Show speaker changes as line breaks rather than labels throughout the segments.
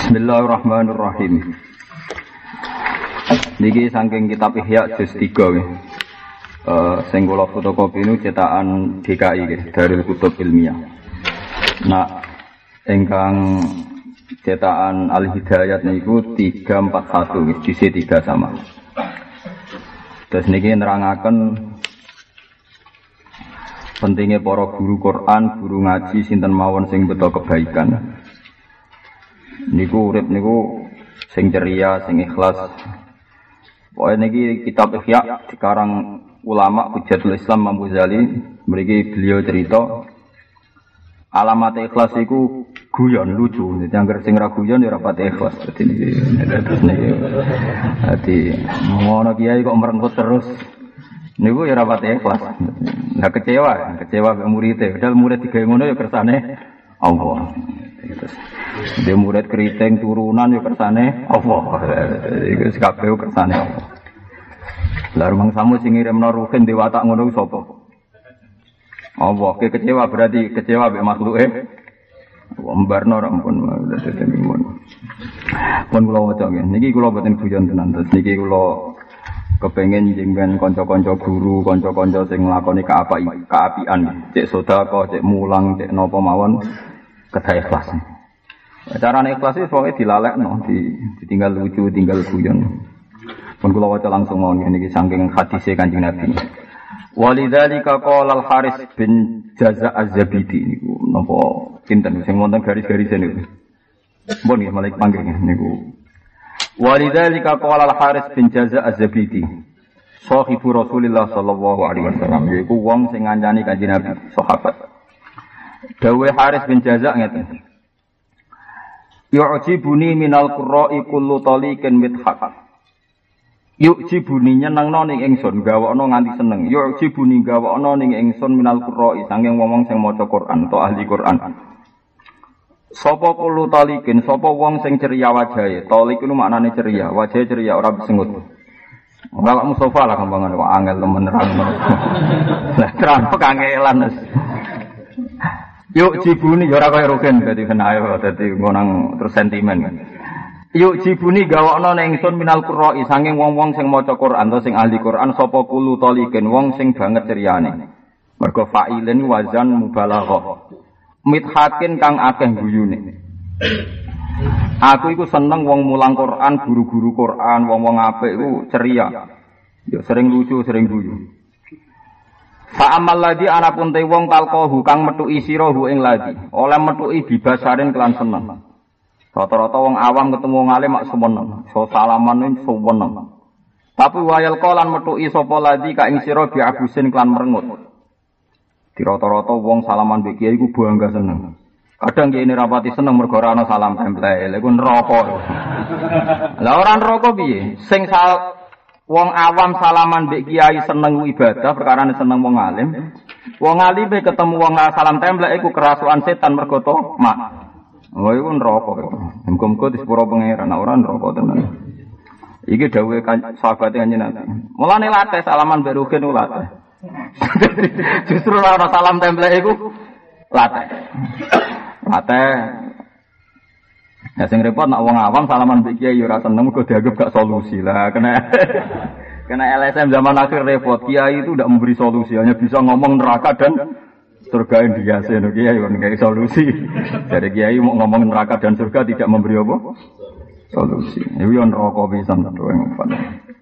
Bismillahirrahmanirrahim. Niki saking kitab Ihya juz 3 nggih. Sing kula fotokopi niku cetakan DKI nggih, Darul Kutub Ilmiah. Nah, ingkang cetakan Al-Hidayat niku 341 nggih, juz 3 sama. Terus niki nerangaken pentingnya para guru Quran, guru ngaji sinten mawon sing beto kebaikan. Niku urip niku sing ceria, sing ikhlas. Pokoke niki kitab Ihya dikarang ulama Hujatul Islam Imam Ghazali, mriki beliau cerita alamat ikhlas iku guyon lucu. Dadi anggere sing ra guyon ya ora pati ikhlas. Dadi niki. Dadi ngono kiai kok merengkut terus. Niku ya ora pati ikhlas. Lah kecewa mek murid-e. Padahal murid digawe ngono ya kersane Allah. Dia murid keriting turunan ya kersane Allah. Iku kabeh kersane Allah. Lah rumang samu sing ngirimno ruhin di watak ngono ku sapa? Allah. Kecewa berarti kecewa mek makhluke. Mbarno ra ampun pun kula waca nggih. Niki kula boten guyon tenan. Terus niki kula kepengin jenengan kanca-kanca guru, kanca-kanca sing nglakoni kaapian, cek sedekah, cek mulang, cek napa mawon kedah ikhlas. Carane ikhlas iki pokoke dilalekno, ditinggal lucu, tinggal guyon. Pun kula waca langsung mawon niki saking hadise Kanjeng Nabi. Walidzalika qala Al-Haris bin Jaza' Az-Zabidi niku napa pinten sing wonten garis-garise niku. Mun nggih malih panggih niku. Walidzalika qala Al-Haris bin Jaza' Az-Zabidi sahibu Rasulillah sallallahu alaihi wasallam, yaiku wong sing ngancani Kanjeng Nabi, sahabat. Dawe Haris bin Jaza' ngeten. Yu'jibuni minal qurra'i kullu taliqin mithaq. Yu'jibuni nyenengno ning ingsun, gawakno nganti seneng. Yu'jibuni gawakno ning ingsun minal qurra'i saking wong sing maca Quran atau ahli Quran. Sapa kulo talikin, sapa wong sing ceria wajahe. Talik itu maknane ceria, wajahe ceria ora besengut. Ora Mustafa lah gampangan kok angel temen nerang. Lah terang kangelan. Yuk jibuni ya ora kaya rugen dadi kenae dadi ngonang terus sentimen. Yuk jibuni gawakno ning ingsun minal qurra'i saking wong-wong sing maca Quran atau sing ahli Quran sapa kulo talikin wong sing banget ceriane. Mergo fa'ilin wazan mubalaghah. Mithakin kang akeh guyune. Aku iku seneng wong mulang Quran, guru-guru Quran, wong-wong apik iku ceria. Ya sering lucu, sering guyu. Fa amal ladzi anapun te wong talqahu kang metuki sirahu ing ladzi, oleh metuki bibasarin kelan seneng. Rata-rata wong awam ketemu wong alim mak semeneng, so salaman semeneng. Tapi wayal qalan metuki sapa ladzi ka ing sira bi abusin kelan merengut. Di rata-rata wong salaman mbek kiai iku bangga seneng. Kadang kiai rapati seneng mergo ora ana salam tempel, lha iku neraka. Lah ora neraka piye? Sing wong awam salaman mbek kiai seneng ibadah perkara seneng wong alim. Wong alime ketemu wong salam tempel iku kerasukan setan mergo to mak. Oh iku neraka. Muga-muga disepuro pangeran ora neraka tenan. Iki dawuhe sahabat Kanjeng Nabi. Mulane latih salaman mbek rugen latih. Justru ora salam template iku latih. Ya sing repot nek wong awam salaman mbek kiai ora seneng mergo dianggap gak solusi lah. Kena LSM zaman akhir repot. Kiai itu tidak memberi solusi, hanya bisa ngomong neraka dan surga India. Kiai kan kayak solusi. Jadi kiai mau ngomong neraka dan surga tidak memberi apa? Solusi. Iku yo neraka pisan to ngono.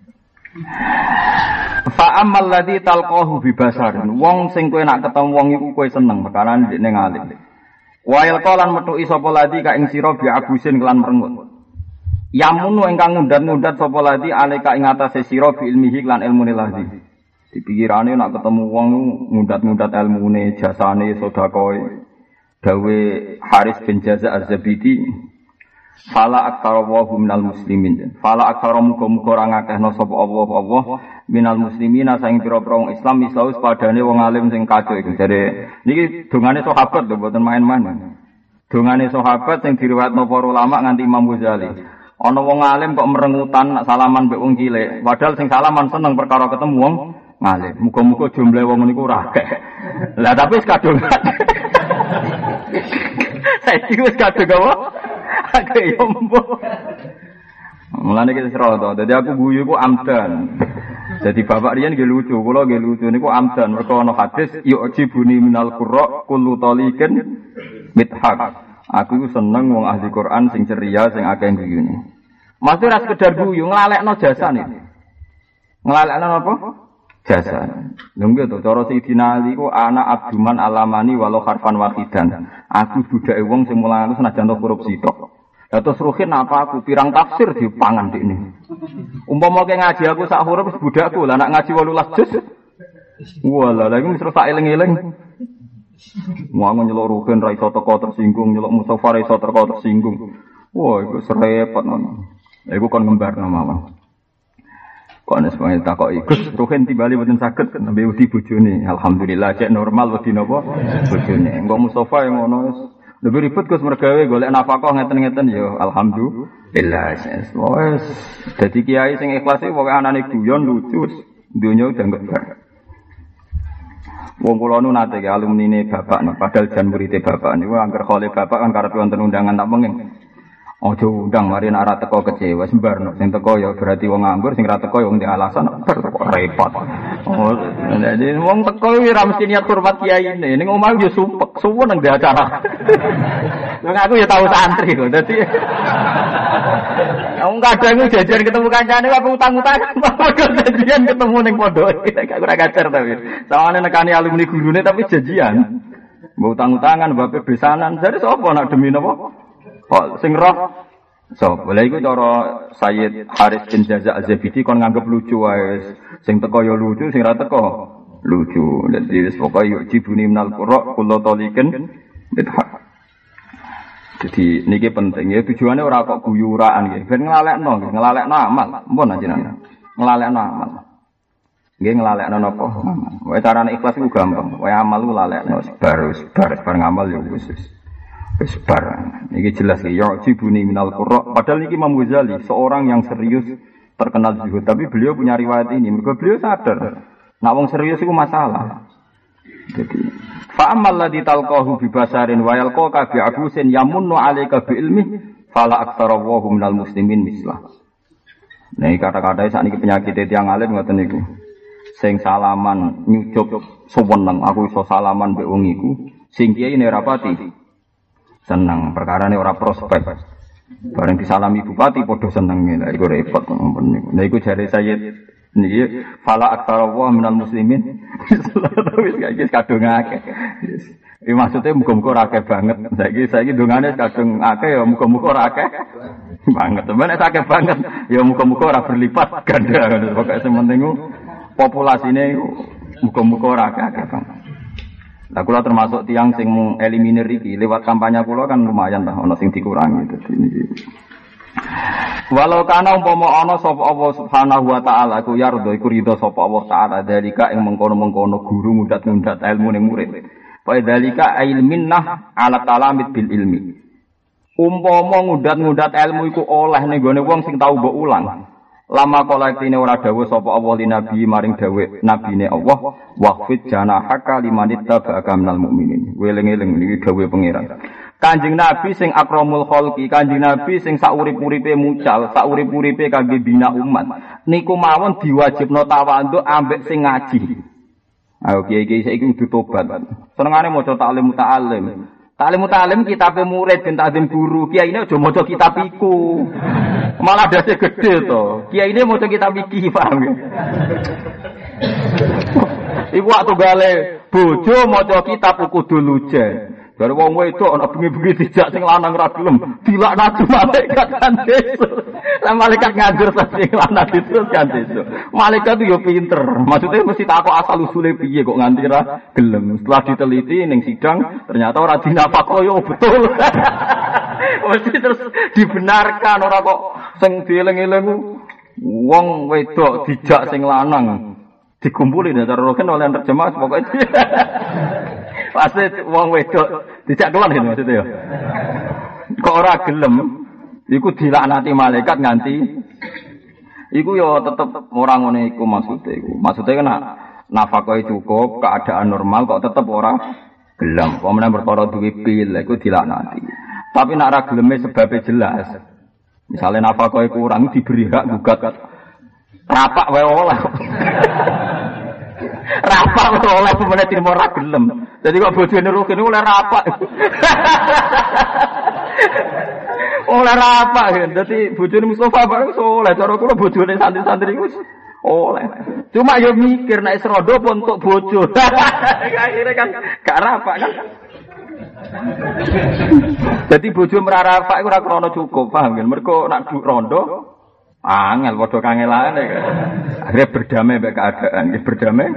Fa amal ladzi talqahu bi basarin wong sing kowe nak ketemu wong iku kowe seneng perkara ndekne ngalim. Wa yalqalan metuki sapa ladzi ka ing sira bi abusin kelan merengut. Yamunu ingkang ngundat-ngundat sapa ladzi alika ing atase sira bi ilmihi lan ilmune ladzi. Dipikirane nak ketemu wong ngundat-ngundat ilmune, jasane, sedekahe. Dawe Haris bin Jaza' Az-Zabidi fala aktsara wa minal muslimin. Fala aktsara muga-muga ora ngakehno sapa Allah minal muslimina saing pira-pira wong Islam misaus padane wong alim sing kacau iku. Jare niki dongane sahabat lho mboten main-main. Dongane sahabat sing diriwayatno para ulama nganti Imam Ghazali. Ana wong alim kok merengutan nak salaman mbek wong cilik, padahal sing salaman seneng perkara ketemu wong ngalim. Muga-muga jumlah wong niku ora akeh. Lah tapi wis kadung. Saiki wis kadung apa? Akeh yo mbok. Mulane iki sira to. Dadi aku guyu iku amdan. Jadi bapak riyen nggih lucu, kula nggih lucu niku amdan mergo ana hadis yu'jibuni minal qurra kullu taliqin mithaq. Aku seneng wong ahli Quran sing ceria sing akeh guyune. Mesti ora sekedar guyu, nglalekno jasane. Nglalekno apa? Jasa. Lha nggih to cara Sidina Ali ku ana abduman alamani walau harfan wahidan. Aku budake wong sing mulang senajan korupsi tok. Ya terus ruhin apa aku pirang tafsir dipangan dikne. Umpama ke ngaji aku sak huruf budakku lah nak ngaji 18 juz. Walah lha iku mesti sak eling-eling. Wong nyeluk ruhin ra iso teko tersinggung, nyeluk Mustofa ra iso teko tersinggung. Wah iku serepot ngono. Lha iku kon ngembarno mawon. Kok nek sampe takoki Gus ruhin timbali mboten saged nembe wedi bojone. Alhamdulillah cek normal wedi napa bojone. Engko Mustofa yang ngono wis lebih ribet Gus mergawe golek nafkah ngeten-ngeten ya alhamdulillah. Wes dadi kiai sing ikhlas e pokoke anane guyon lucu donya udah ngebar. Wong kula nu nate ke alumnine bapak nih, padahal jan murite bapak niku angger khole bapak kan karep wonten undangan tak pengen. Ojo undang mari nek ora teko kecewa sembarno sing teko ya berarti wong nganggur sing ora teko ya wong di alasan repot. Oh, jadi wong teko iki ora mesti niat hormat kiai ini. Ning omah yo supek, suwun nang di acara. Wong aku ya tau santri kok. Dadi wong kadang jajan ketemu kancane apa utang-utangan. Janjian ketemu ning pondok. Gak ora kacer tapi. Sawane nekani alumni gurune tapi janjian. Mbok utang-utangan, mbok besanan. Jadi sapa nak demi napa? Kok sing roh sapa? Lha iku cara Sayyid Haris bin Jaza Az-Zabidi kon nganggep lucu wae. Sing teko ya lucu, sing ra teko lucu. Dadi wis pokoke yo jibuni minal qurra kullu taliqin bidhaq. Jadi niki penting ya tujuane ora kok guyuraan nggih. Ben nglalekno amal. Mumpun ajenengan. Nglalekno amal. Nggih nglalekno napa? Wae carane ikhlas iku gampang. Wae amal ku lalekno bar ngamal ya wis. Wis bar. Niki jelas ya jibuni minal qurra. Padahal niki Imam Ghazali seorang yang serius terkenal zuhud, tapi beliau punya riwayat ini. Mergo beliau sadar nek wong serius iku masalah. Jadi fa amal ladzi talqahu bi basarin wa yalqaka bi abusin yamunnu 'alaika bi ilmi fala aktsara wa minal muslimin mislah. Nah, kata-kata sakniki penyakit tiyang alim ngoten niku. Sing salaman nyucup suweneng aku iso salaman mbek wong iku, sing kiai nek rapati seneng perkarane ora prospek. Bareng disalami bupati padha senenge. Lah iku repot ngoten niku. Nah iku jare Sayyid niki fala aktsara wa minal muslimin. Wis gak kadung akeh. Iki maksude muga-muga ora akeh banget. Saiki dongane kadung akeh ya muga-muga ora akeh banget. Temen nek akeh banget ya muga-muga ora berlipat ganda. Pokoke sing penting populasine muga-muga ora akeh banget. Lah kula termasuk tiyang sing eliminir iki lewat kampanye kula kan lumayan lah ana sing dikurangi dadi niki. Walau kana umpama ana sapa Allah Subhanahu wa taala ku yardo iku ridho sapa Allah taala dalika ing mengkono-mengkono guru mudat-mudat ilmu ning murid. Fa dalika ilminnah ala talamid bil ilmi. Umpama ngudat-ngudat ilmu iku oleh ning gone wong sing tau mbok ulang. Lama kolektine ora dawuh sapa Allah li nabi maring dawuh nabine Allah waqfid janahaka limanita ba'aka minal mukminin. Weling-eling niki dawuh pangeran. Kanjeng Nabi sing akramul khalqi, Kanjeng Nabi sing saurip-uripe mucal, saurip-uripe kangge bina umat. Niku mawon diwajibno tawadhu ambek sing ngaji. Ayo kiai-kiai saiki kudu tobat. Senengane maca taklim muta'allim. Taklim muta'allim kitabe murid ben takdim guru. Kiyaine aja maca kitab iku. Malah dase gede to. Kiyaine maca kitab iki, paham ya? Iku waktu gale bojo maca kitab kudu lujen. Bare wong wedok ana bengi-bengi dijak sing lanang ra gelem, dilaknati malaikat kan besok. Lah malaikat nganjur sing lanang terus kan besok. Malaikat yo pinter. Maksudnya mesti takok asal usule piye kok nganti ra gelem. Setelah diteliti ning sidang ternyata ora dinafako yo betul. Mesti terus dibenarkan ora kok sing dieling-eling wong wedok dijak sing lanang dikumpuli dasar roken oleh terjemah pokoknya. Pasti wong wedok dijak kelan gitu maksudnya ya. Kok ora gelem iku dilaknati malaikat nganti iku ya tetep ora ngene iku maksudnya iku. Maksudnya kan nafkah cukup, keadaan normal kok tetep ora gelem. Pemene perkara duwe pil iku dilaknati. Tapi nak ra geleme sebabnya jelas. Misalnya nafkah kurang diberi hak gugat. Rapak wae oleh. Rapak oleh pemene trimo ra gelem. Jadi kok bojone Rukin oleh rapak. Oleh rapak kan. Dadi bojone Mustofa bareng soleh. Cara kula bojone santri-santri iku oleh. Cuma yo mikir nek serondo pun untuk bojo. Akhire kan gak rapak kan. Jadi bojo merarapak iku ora krana cukup, paham kan? Mergo nak rondo angel padha kangelane. Akhire berdamai mek keadaan, nggih berdamai.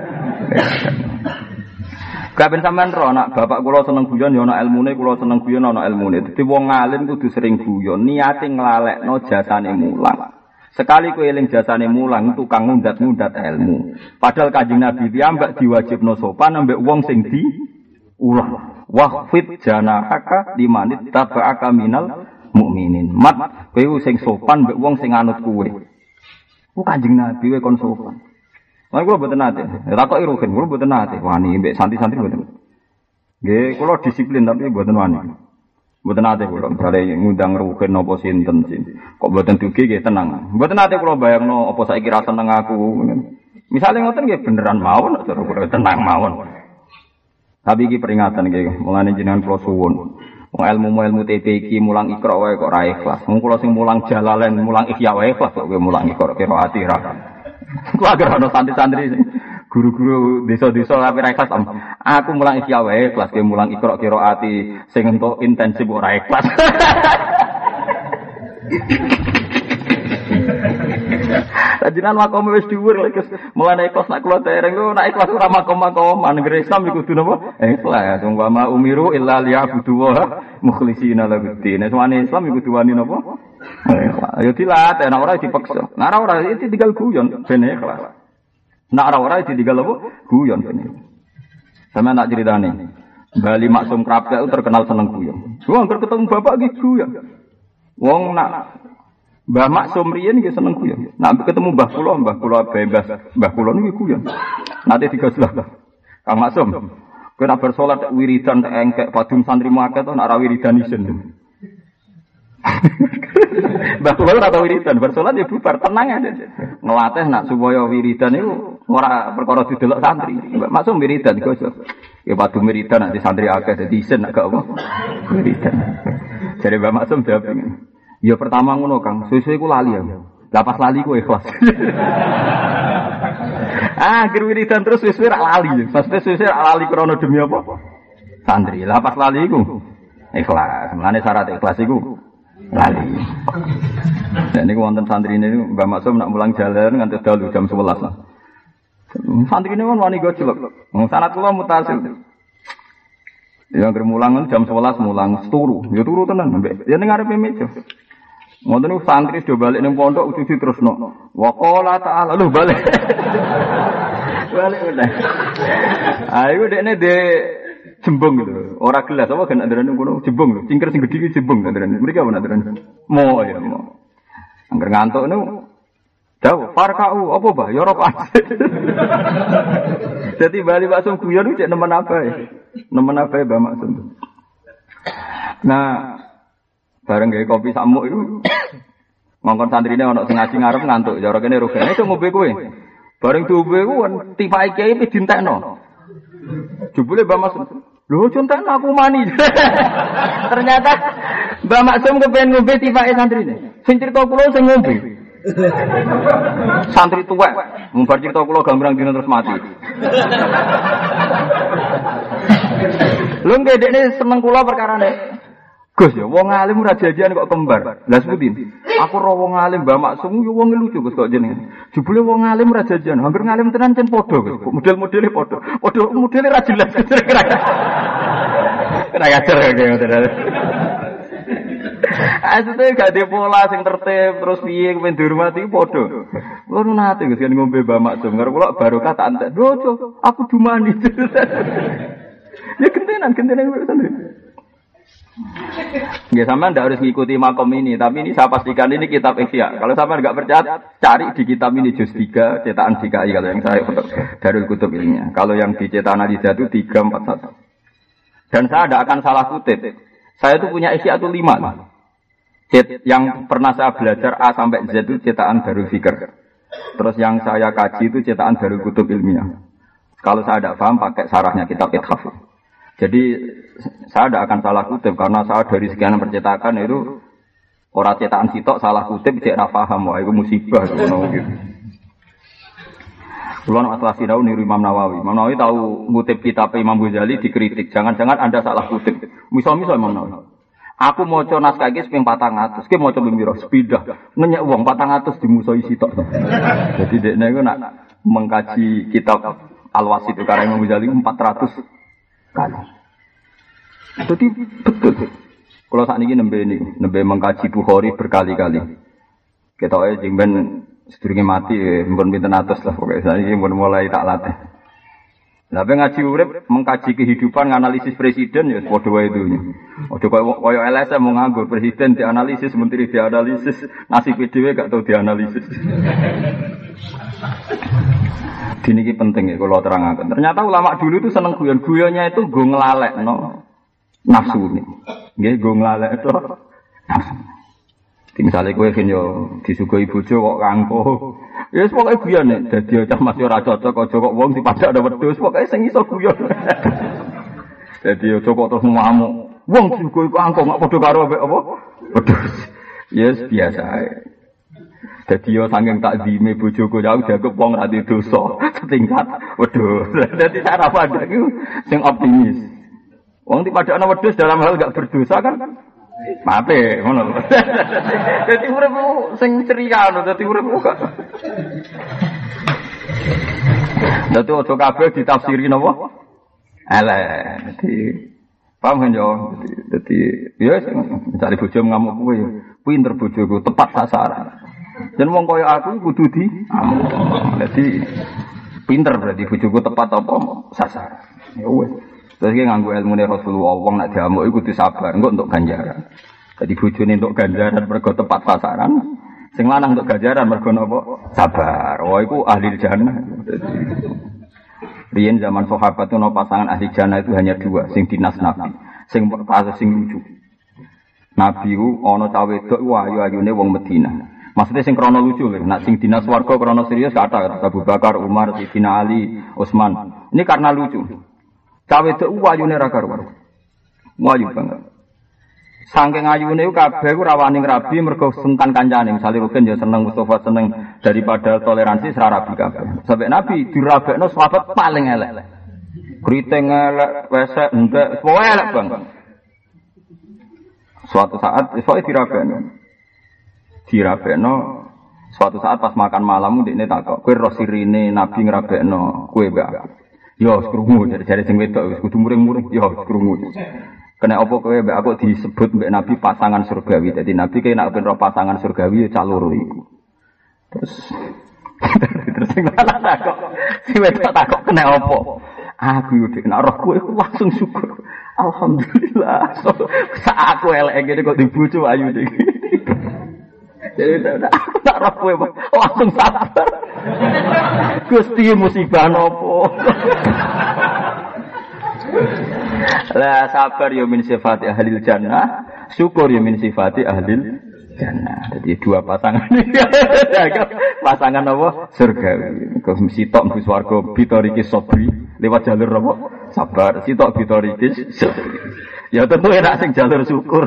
Kabeh sampean ro nak bapak kula seneng guyon ya ana ilmune, kula seneng guyon ana ilmune. Dadi wong alim kudu sering guyon, niate nglalekno jasane mulang. Sekali kowe eling jasane mulang tukang ngundat-ngundat ilmu. Padahal Kanjeng Nabi piyambak diwajibno sopan ambek wong sing di ulah. Waqfid janahaka limanit taba'aka minal mukminin. Mat kowe sing sopan mbek wong sing anut kowe. Ku Kanjeng Nabi kowe kon sopan. Lah kula mboten nate. Takoki Ruhin, kula mboten nate wani mbek santri-santri mboten. Nggih, kula disiplin tapi mboten wani. Mboten nate kula bare ngundang Ruhin napa sinten sih. Kok mboten dugi nggih tenang. Mboten nate kula bayangno apa saiki ra seneng aku. Misale ngoten nggih beneran mawon cara kula tenang mawon. Tapi iki peringatan iki, mulane jenengan kula suwun. Wong ilmu TP iki mulang Iqra wae kok ra ikhlas. Wong kula sing mulang Jalalain, mulang Ihya wae ikhlas kok kowe mulang Iqra kira ati ra. Kula agar ana santri-santri guru-guru desa-desa tapi ra ikhlas. Aku mulang Ihya wae ikhlas, kowe mulang Iqra kira ati sing entuk intensif ora ikhlas. Jenengan makom wis dhuwur lek mulane ikhlas nak kula dereng lho nak ikhlas ora makom-makoman negeri Islam iku kudu napa? Ikhlas. Wong wa umiru illa liya'budu wa mukhlishina lahuddin. Semane Islam iku kudu wani napa? Ikhlas. Ayo dilatih nek ora dipaksa. Nek ora iki tinggal guyon ben ikhlas. Nek ora ditinggal apa? Guyon ben. Sama nak ceritane. Bali Maksum Krapek terkenal seneng guyon. Wong ketemu bapak iki guyon. Wong nak Mbah Maksum riyen nggih seneng guyon. Nek ketemu Mbah kula bebas, Mbah kula niku guyon. Nate digaslah. Kang Maksum, kowe nek bar salat wiridan engkek padum santri akeh to nek ora wiridan isin. Mbah kula ora tau wiridan, bar salat ya bubar tenang aja. Ngelatih nak supaya wiridan niku ora perkara didelok santri. Mbah Maksum wiridan digosok. Ya padum wiridan nek santri akeh dadi isin nek gak apa. Wiridan. Jare Mbah Maksum jawab ngene. Ya pertama ngono Kang, suwe-suwe ku lali ya. Lah pas lali ku ikhlas. Akhir wiridan terus suwe-suwe rak lali. Maksudnya suwe-suwe rak lali krana demi apa? Santri. Lah pas lali ku ikhlas. Mulane syarat ikhlas iku lali. Dan niku wonten santri niku Mbah Maksum nak mulang jalan nganti dalu jam 11. Santri niku wani gojlok. Wong sanad kula mutasil. Ya anggere mulang jam 11 mulang turu. Ya turu tenan mbek. Ya ning ngarepe meja. Ngoten niku santri do balik ning pondok uji terusno. Wa qala ta'ala lho balik. Balik udah. Ayo dekne de jembung gitu. Ora gelas apa kan andaran ngono jembung lho. Cingker sing gedhi iki jembung andaran. Mriki apa andaran? Mo ya mo. Angger ngantuk niku jauh farkau apa bah ya rokok. Jadi bali Maksum guyon cek nemen apa ya? Nemen apa ya Mbah Maksum. Nah, bareng gawe kopi samuk iku ngongkon santrine ana sing ngaji ngarep ngantuk. Cara kene rogane iso ngombe kowe. Bareng diombe ku tipai kiai wis dintekno. Jebule Mbah Maksum. Lho contekno aku mani. Ternyata Mbah Maksum kepen ngombe tipai santrine. Sing crita kula sing ngombe. Santri tuwek, mumbar cerita kula gambrang dina terus mati. Lho nggih dekne seneng kula perkarane. Gus ya wong alim ora jajan kok kembar. Lah sepundi? Aku ro wong alim Mbah Maksum yo wong lucu Gus kok jenenge. Jebule wong alim ora jajan, hampir ngalim tenan cen padha Gus. Model-modele padha. Padha modele ra jelas. Ora ngajar kaya ngoten. Asline gak ada pola sing tertib terus piye kepen dihormati padha. Kula nu nate Gus kan ngombe Mbah Maksum karo kula barokah tak entek. Lho, aku dumani. Ya gentenan santri. Ya sampean ndak harus mengikuti makom ini, tapi ini saya pastikan ini kitab Ihya. Kalau sampean enggak percaya, cari di kitab ini juz 3 cetakan DKI kalau yang saya foto Darul Kutub ilmiah. Kalau yang di cetakan Al-Hidayah itu 341. Dan saya tidak akan salah kutip. Saya itu punya Ihya-ul 5. Yang pernah saya belajar A sampai Z itu cetakan Darul Fikr. Terus yang saya kaji itu cetakan Darul Kutub Ilmiah. Kalau saya tidak paham pakai sarahnya kitab Ithaf. Jadi saya tidak akan salah kutip karena saya dari sekian percetakan itu orang cetakan sitok salah kutip tidak paham. Wah itu musibah gitu. Kulo masalah sinau niru Imam Nawawi. Imam Nawawi tahu ngutip kitab Imam Ghazali dikritik. Jangan-jangan Anda salah kutip. Misal Imam Nawawi. Aku maca naskah iki ping 400. Ki maca pembiro sepidah. Ngenyek wong 400 dimusuhi sitok. Jadi dekne iku nak mengkaji kitab Al-Wasit itu karya Imam Ghazali 400 kali. Jadi betul. Kalau saat ini nembe mengkaji Bukhari berkali-kali. Kita jengben sedurunge mati, mbon pinten atus lah pokoknya. Saya ini mbon mulai tak latih. Lah ngaji urip mengkaji kehidupan, analisis presiden ya padha wae itu. Ojo koyo LSM mau nganggur presiden dianalisis, menteri dianalisis, nasib dhewe gak tau dianalisis. Dini iki penting ya kalau terangaken. Ternyata ulama dulu itu seneng guyon-guyonnya itu nggo nglalekno nafsu ini. Nggih nggo nglalekno nafsu. Misalnya kowe kan yo disuguhi bojo kok kangko. Ya wis pokoke guyone dadi cah masih ora cocok aja kok wong dipadak ada wedhus pokoke sing iso guyon. Dadi aja kok terus ngamuk. Wong disuguhi kangko gak padha karo apa? Wedhus. Yes biasa ae. Dadi yo saking takzime bojoku jauh dianggep wong ra dosa setingkat wedhus. Dadi cara pandang iku sing optimis. Wong dipadakno wedhus dalam hal gak berdosa kan mate ngono. Dadi uripmu sing ceria ngono, dadi uripmu gak. Dadi ojo kabeh ditafsiri napa? Elek. Dadi paham kan yo? Dadi ya mencari bojo ngamuk kowe yo. Pinter bojoku tepat sasaran. Dan wong kaya aku kudu di dadi pinter berarti bojoku tepat apa sasaran. Ya wis. Terus dia nganggu ilmu Rasulullah, wong nak diamuk itu kudu sabar, engko untuk ganjaran. Jadi bojone untuk ganjaran mergo tepat sasaran, sing lanang untuk ganjaran mergo napa? Sabar. Wah iku ahli jannah. Riyen zaman sahabat itu no pasangan ahli jannah itu hanya 2, sing dinas Nabi, sing kasus sing lucu. Nabi ku ana cah wedok ayu-ayune wong Madinah. Maksudnya sing krono lucu lho, nak sing dinas warga krono serius kata Abu Bakar, Umar, Sayyidina Ali, Utsman. Ini karena lucu. Cawe itu wayune ra karuan. Wayu banget. Saking ayune ku kabeh ku rawani ngrabi mergo sungkan kancane. Misale Rukin ya seneng Mustafa seneng daripada toleransi sira rabi kabeh. Sampai Nabi dirabekno sahabat paling elek. Kriting elek, wesek, entek, pokoke elek banget. Suatu saat isoke dirabekno. Suatu saat pas makan malam ndekne takok, "Kowe ro sirine Nabi ngrabekno kowe mbak?" Yo krungu jare sing wedok wis kudu muring-muring yo krungu. Kena apa kowe mbek aku disebut mbek Nabi pasangan surgawi. Dadi Nabi kaya nek ben ro pasangan surgawi ya caloro iku. Terus sing lanang kok si wedok takok kena apa? Aku yo nek roh kowe langsung syukur. Alhamdulillah. Sak aku elek ngene kok dibojo ayu iki. Jadi aku tak roh kowe langsung sabar. Gusti musibah nopo. Lah sabar ya min sifati ahlil jannah, syukur ya min sifati ahlil jannah. Jadi 2 pasangan ini. Pasangan apa? Surgawi. Kok sitok mlebu swarga bitoriki sabri lewat jalur apa? Sabar. Sitok bitoriki sabri. Ya tentu enak sing jalur syukur.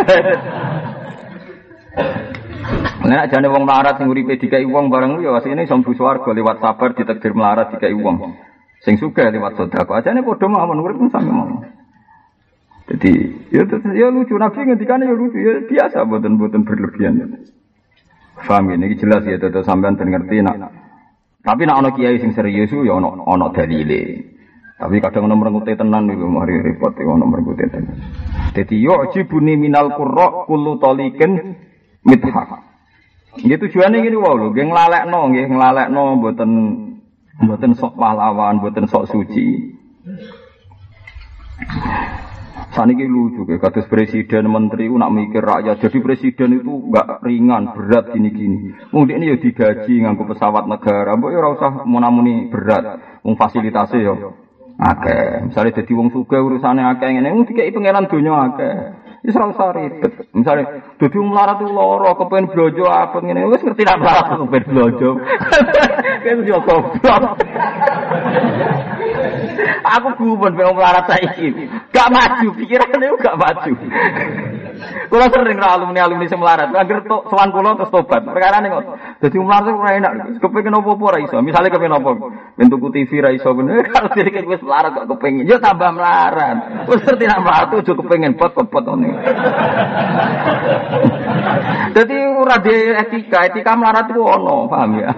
Nek jane wong melarat sing uripe dikai wong bareng ya asline iso mlebu swarga lewat sabar ditakdir melarat dikai wong. Sing sugih lewat sedekah. Ajane padha mawon urip sami mawon. Jadi ya lucu Nabi ngendikane ya lucu ya biasa mboten berlebihan. Paham ini jelas ya tetep sampean ben ngerti nak. Tapi nek ana kiai sing serius ya ana dalile. Tapi kadang ana merengute tenan niku mari repot ana merengute tenan. Dadi yo jibuni minal qurra kullu taliqin mithaq. Nggih tujuane ngene wae lho, nggih nglalekno mboten sok pahlawan, mboten sok suci. Saniki lucu ke kados presiden menteri ku nak mikir rakyat. Jadi presiden itu enggak ringan, berat gini-gini. Wong dekne ya digaji nganggo pesawat negara, mbok ya ora usah munamuni berat. Wong fasilitasé ya akeh. Misale dadi wong sugih urusane akeh ngene, wong dikeki pangeran donya akeh. Wis ora usah ribet. Misale dadi melarat ku lara kepen blojo apa ngene wis ngerti nek melarat kepen blojo. Wis yo goblok. Aku gumun ben melarat saiki. Gak maju pikirane gak maju. Kula sering ra alumni sing melarat, anggere sowan kula terus tobat. Perkarane kok dadi melarat ora enak. Kepengin opo-opo ora iso. Misale kepengin opo? Ben tuku TV ra iso bener. Kalau dhewe wis melarat kok kepengin, yo tambah melarat. Wis ngerti nek melarat ojo kepengin pot-pot ngene. Dadi ora di etika melarat ku ono, paham ya?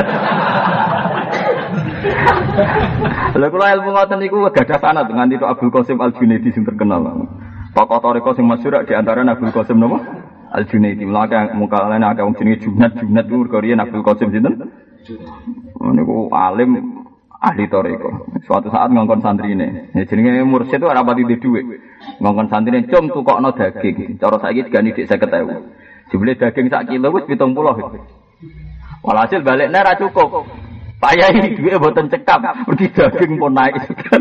Lha kula ilmu ngoten niku gadah sanad nganti tok Abdul Qasim Al-Junaidi sing terkenal. Tokoh toriko sing masyhur di antara Abdul Qasim napa? Al-Junaidi. Mulane mukalane akeh wong jenenge Junad ku mergo riyen Abdul Qasim sinten? Niku alim ahli toriko. Suatu saat ngongkon santrine. Ya jenenge mursyid itu ora pati duwe. Ngongkon santrine cum tukokno daging. Cara saiki digani dik 50.000. Jebule daging sak kilo wis 70. Walhasil balikne ra cukup. Payah duwe mboten cekap, mergi daging pun naik.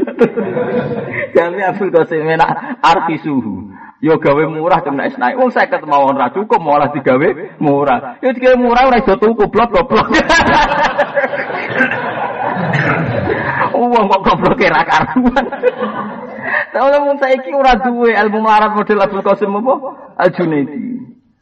Jami Abdul Qasim menak arti suhu. Yo gawe murah cuma naik. Wong 50 mawon ra cukup malah digawe murah. Yo digawe murah ora iso tuku goblok. Wong kok goblok ra karuan. Tahu wong saiki ora duwe ilmu melarat model Abdul Qasim apa? Al-Junaidi.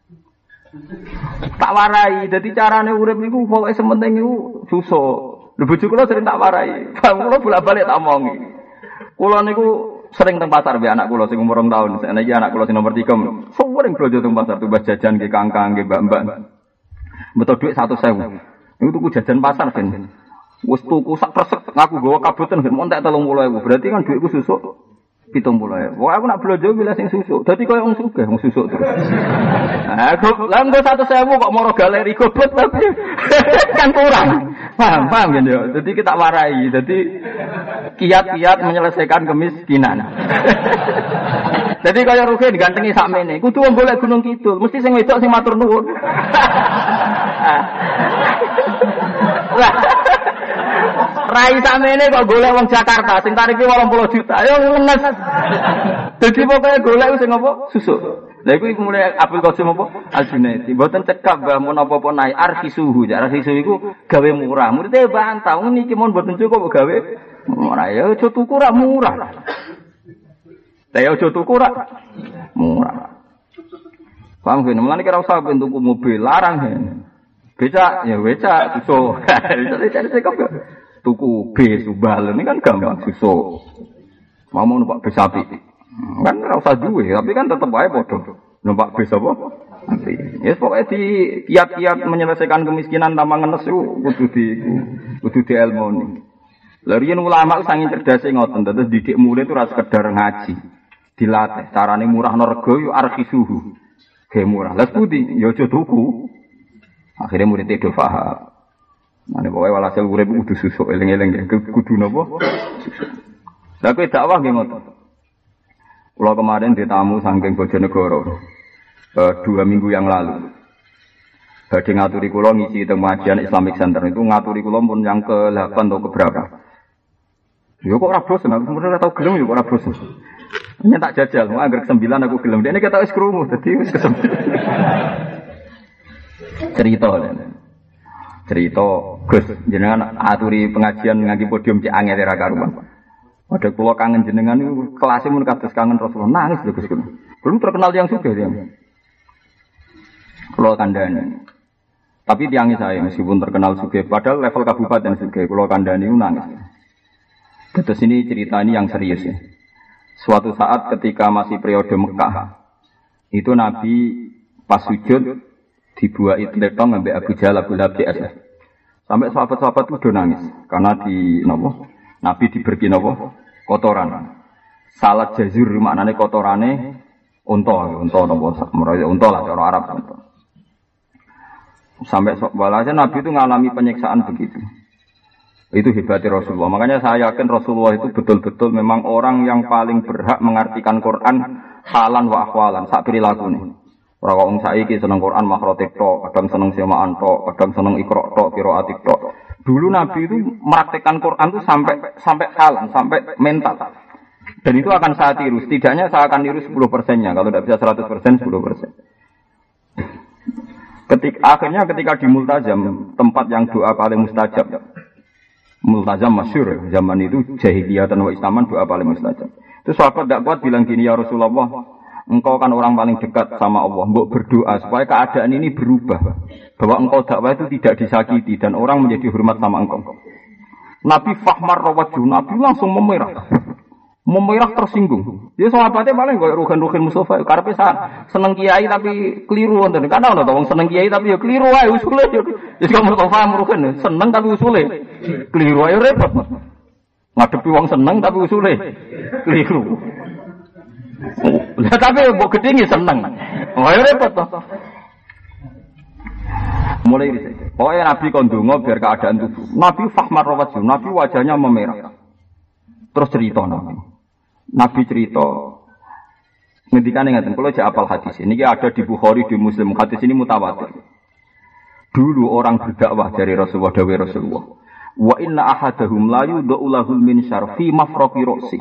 Tak warai, dadi carane urip niku pokoke sementing niku susah. Lho bojo kula sering tak warai. Kula bolak-balik tak omongi. Kula niku sering teng pasar mbek anak kula sing umur 2 tahun. Saiki anak kula sing nomor 3. Sering blojo teng pasar tumbas jajan nggih kangkang nggih mbak-mbak. Beto dhuwit 100.000. Niku tuku jajan pasar ben. Wis tuku sak kresek ngaku gawa kabutan ben montek 30.000. Berarti kan dhuwitku susuk 70.000. Wah aku nak blojo milih sing susuk. Dadi koyo wong sugih wong susuk terus. Lah nggo 100.000 kok moro galeri goblok tapi kan kurang. Paham ya. Jadi kita warai. Jadi kiat-kiat menyelesaikan kemiskinan. Jadi kaya Ruhin digantengi sakmene. Kudu wong golek Gunung Kidul, mesti sing wedok sing matur nuwun. Rai sakmene kok golek wong Jakarta sing tarife 80 juta. Ayo ngenes. Dadi pokoke golek sing apa? Susuk. Lha iku mulai Abdul Qasim apa? Al-Junaidi. Mboten cekap Mbah mun apa-apa naik arfi suhu. Arfi suhu iku gawe murah. Muridé bantah wong niki mun mboten cukup kok gawe murah. Ya aja tuku ra murah. Lah ya aja tuku ra murah. Paham kan? Mulane kira usah ben tuku mobil larang ya. Becak ya becak susuk. Cari cekap ya. Tuku bis subal ini kan gampang susuk. Mau numpak bis sapi. Kan ora usah duwe, tapi kan tetep wae padha. Numpak bis apa? Nanti. Ya pokoke di kiat-kiat menyelesaikan kemiskinan tanpa ngenes iku kudu dielmoni. Lha riyen ulama saking cerdase ngoten, terus didik murid itu ora sekedar ngaji. Dilatih carane murahno rega yo arkisuhu. Ge murah. Lah pundi? Ya aja tuku. Akhire murid itu paham. Nah, pokoke walhasil urip kudu susuk eling-eling kudu napa? Lah kowe dakwah nggih ngoten. Kula kemarin ditamu saking Bojonegoro 2 minggu yang lalu. Badhe ngaturi kula ngisi teng pengajian Islamic Center itu ngaturi kula pun yang ke-8 atau ke-berapa. Yo kok ora bosen aku sebenarnya tau gelem yo kok ora bosen. Hanya tak jajal, mau anggar 9 aku gelem. Dene ketok wis krungu dadi wis kesem. Cerita Gus jenengan aturi pengajian ngangge podium cek angel ra karuan. Padha kula kangen jenengan niku kelas mun kados kangen Rasulullah nangis lho Gus. Belum terkenal yang sugih ya. Kula kandhani. Tapi tiangi saya meskipun terkenal sugih padahal level kabupaten sugih kula kandhani nangis. Terus ini cerita ini yang serius ya. Suatu saat ketika masih periode Mekah itu Nabi pas sujud dibuat itletong ambek Abu Jahal Abu Lahab DS. Sampai sahabat-sahabat itu udah nangis karena di Nabi diberi kotoran. Salat jazur maknane kotorane unta lah cara Arab unta. Sampai walhasil Nabi itu mengalami penyiksaan begitu. Itu hebatnya Rasulullah. Makanya saya yakin Rasulullah itu betul-betul memang orang yang paling berhak mengartikan Quran halan wa akhwalan sak perilaku. Ora kok wong saiki seneng Quran makrotik tok, kadang seneng semaan tok, kadang seneng ikra tok, qiraatik tok. Dulu Nabi itu mempraktikkan Quran itu sampai halan, sampai mental. Dan itu akan saya tiru. Setidaknya saya akan tiru 10%-nya. Kalau tidak bisa 100%, 10%. Ketika di Multazam, tempat yang doa paling mustajab. Multazam masyhur zaman itu jahiliyah dan wa islaman doa paling mustajab. Itu sahabat tidak kuat bilang gini, ya Rasulullah, engkau kan orang paling dekat sama Allah, mbok berdoa supaya keadaan ini berubah, bahwa engkau dakwah itu tidak disakiti dan orang menjadi hormat sama engkau. Nabi fahmar rawaju, Nabi langsung memerah tersinggung. Dia sahabatnya paling kayak Ruhin Mustafa, karepe seneng kiai tapi keliru wonten. Kan ana to wong seneng kiai tapi ya keliru wae usule. Wis kok Mustafa Ruhin seneng tapi usule keliru ae repot. Ngadepi wong seneng tapi usule keliru. Lah tapi mbok gedhe seneng. Ayo repot to. Mulai dari situ. Pokoknya Nabi kondungo biar keadaan tubuh. Nabi fahmar rawaju, Nabi wajahnya memerah. Terus cerita Nabi cerita ngendikane ngaten, kalau jak apal hadis ini ada di Bukhari, di Muslim, hadis ini mutawatir. Dulu orang berdakwah dari Rasulullah, dawuh Rasulullah, wa inna ahadahum la yudau lahul min syarfi mafraqi ra'si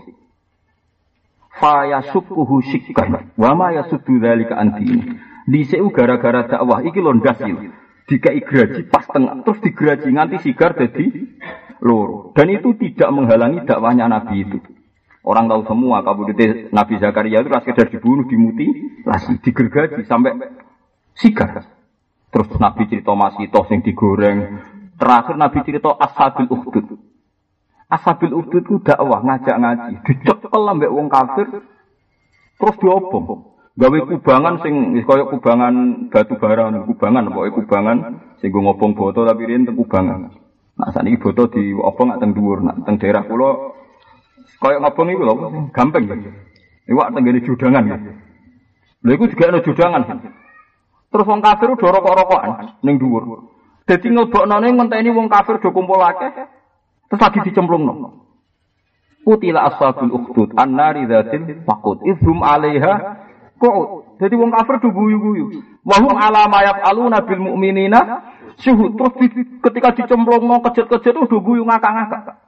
fa yasukkuhu shikkan wa ma yasuddu dzalika antini. Dhisik gara-gara dakwah iki lho ndas iki. Dikai graji pas tengah terus digraji nganti sigar dadi loro. Dan itu tidak menghalangi dakwahnya Nabi itu. Orang tahu semua kabudute Nabi Zakaria itu sekedar dibunuh, dimutilasi, digergaji sampai sigar. Terus Nabi cerita masih toh sing digoreng. Terakhir Nabi cerita Ashabil Ukhdud. Ashabil Ukhdud ku dakwah ngajak ngaji, dicekel ambek wong kafir. Terus diobong. Gawe kubangan sing kaya kubangan batu bara, kubangan pokoke kubangan sing go ngobong boto tapi riyen teng kubangan. Nah saniki boto diobong nak teng dhuwur, nak teng daerah kula kaya ngobong iku lho gampang ya. Iwak teng ngene judangan ya. Lha iku juga ana judangan. Terus wong kafir do rokok-rokokan ning dhuwur. Dadi ngleboknone ngenteni wong kafir do kumpul akeh terus lagi dicemplungno. Qutila ashabul ukhdud an-nari dzatil waqud idhum 'alaiha kok jadi wong kafir do guyu-guyu. Wa hum ala ma yaf'aluna bil mu'minina syuhud. Terus ketika dicemplungno kejet-kejet do guyu ngakak-ngakak.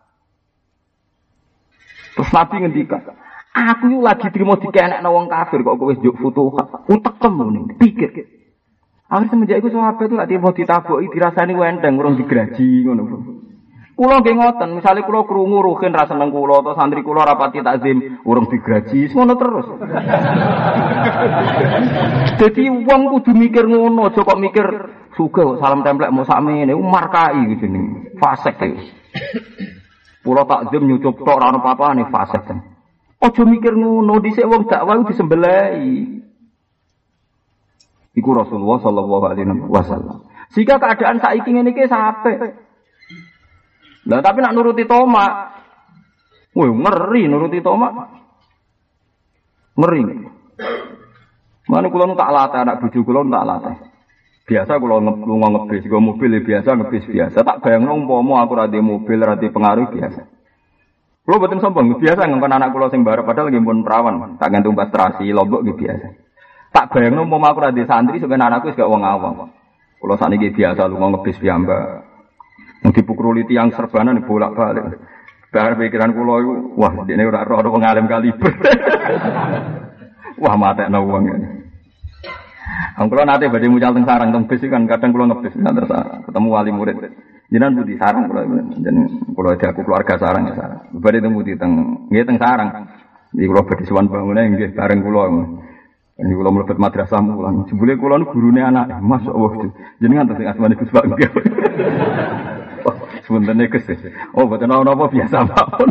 Terus Nabi ngendikan, aku yo lagi trimo dikenekno wong kafir kok kowe njuk futuhat. Utekem ngene, pikir. Akhir semenjak iku sahabat itu lak trimo ditaboki dirasani wenteng urung digraji ngono. Kula nggih ngoten, misale kula krungu Ruhin ra seneng kula atau santri kula rapati takzim urung digraji, ngono terus. Dadi wong kudu mikir ngono, aja kok mikir sugih salam templek mau sakmene, markai gitu jeneng. Fasik iki. Kula takzim nyucup tok ora ono apa-apane fasik. Aja mikir ngono, dhisik wong dakwah disembelai. Iku Rasulullah sallallahu alaihi wasallam. Jika keadaan saiki ngene iki sampe lah tapi nak nuruti Toma, woi ngeri nuruti Toma, ngeri. Mana kulo tak latih anak bujuk kulo tak latih. Biasa kulo ngebis, gue mobil biasa ngebis biasa. Tak bayang umpama aku rada mobil rada pengaruh biasa. Kulo betul sombong biasa ngangkon anak kulo sing barep padahal lagi pun perawan, tak gantung pastrasi lombok gitu biasa. Tak bayang umpama aku rada santri sebenarnya anakku gak wong awam. Kulo sakniki biasa lu ngebis piyambak. Dipukuli tiang serbanan bolak-balik. Bahar pikiran kula iku, wah dene ora ora wong alim kaliber. Wah matekno wong. Kula nate badhe mucal teng sarang teng bis kan kadang kula ngebis terus ketemu wali murid. Jenengan budi sarang kula jeneng kula aku keluarga sarang ya sarang. Badhe teng budi teng nggih teng sarang. Iki kula badhe sowan bangunane nggih bareng kula. Ini kula mlebet madrasah mulang. Jebule kula niku gurune anak. Masyaallah. Jenengan teng asmane Gus Pak nggih. Sebenarnya kesih. Oh, betul apa biasa mawon.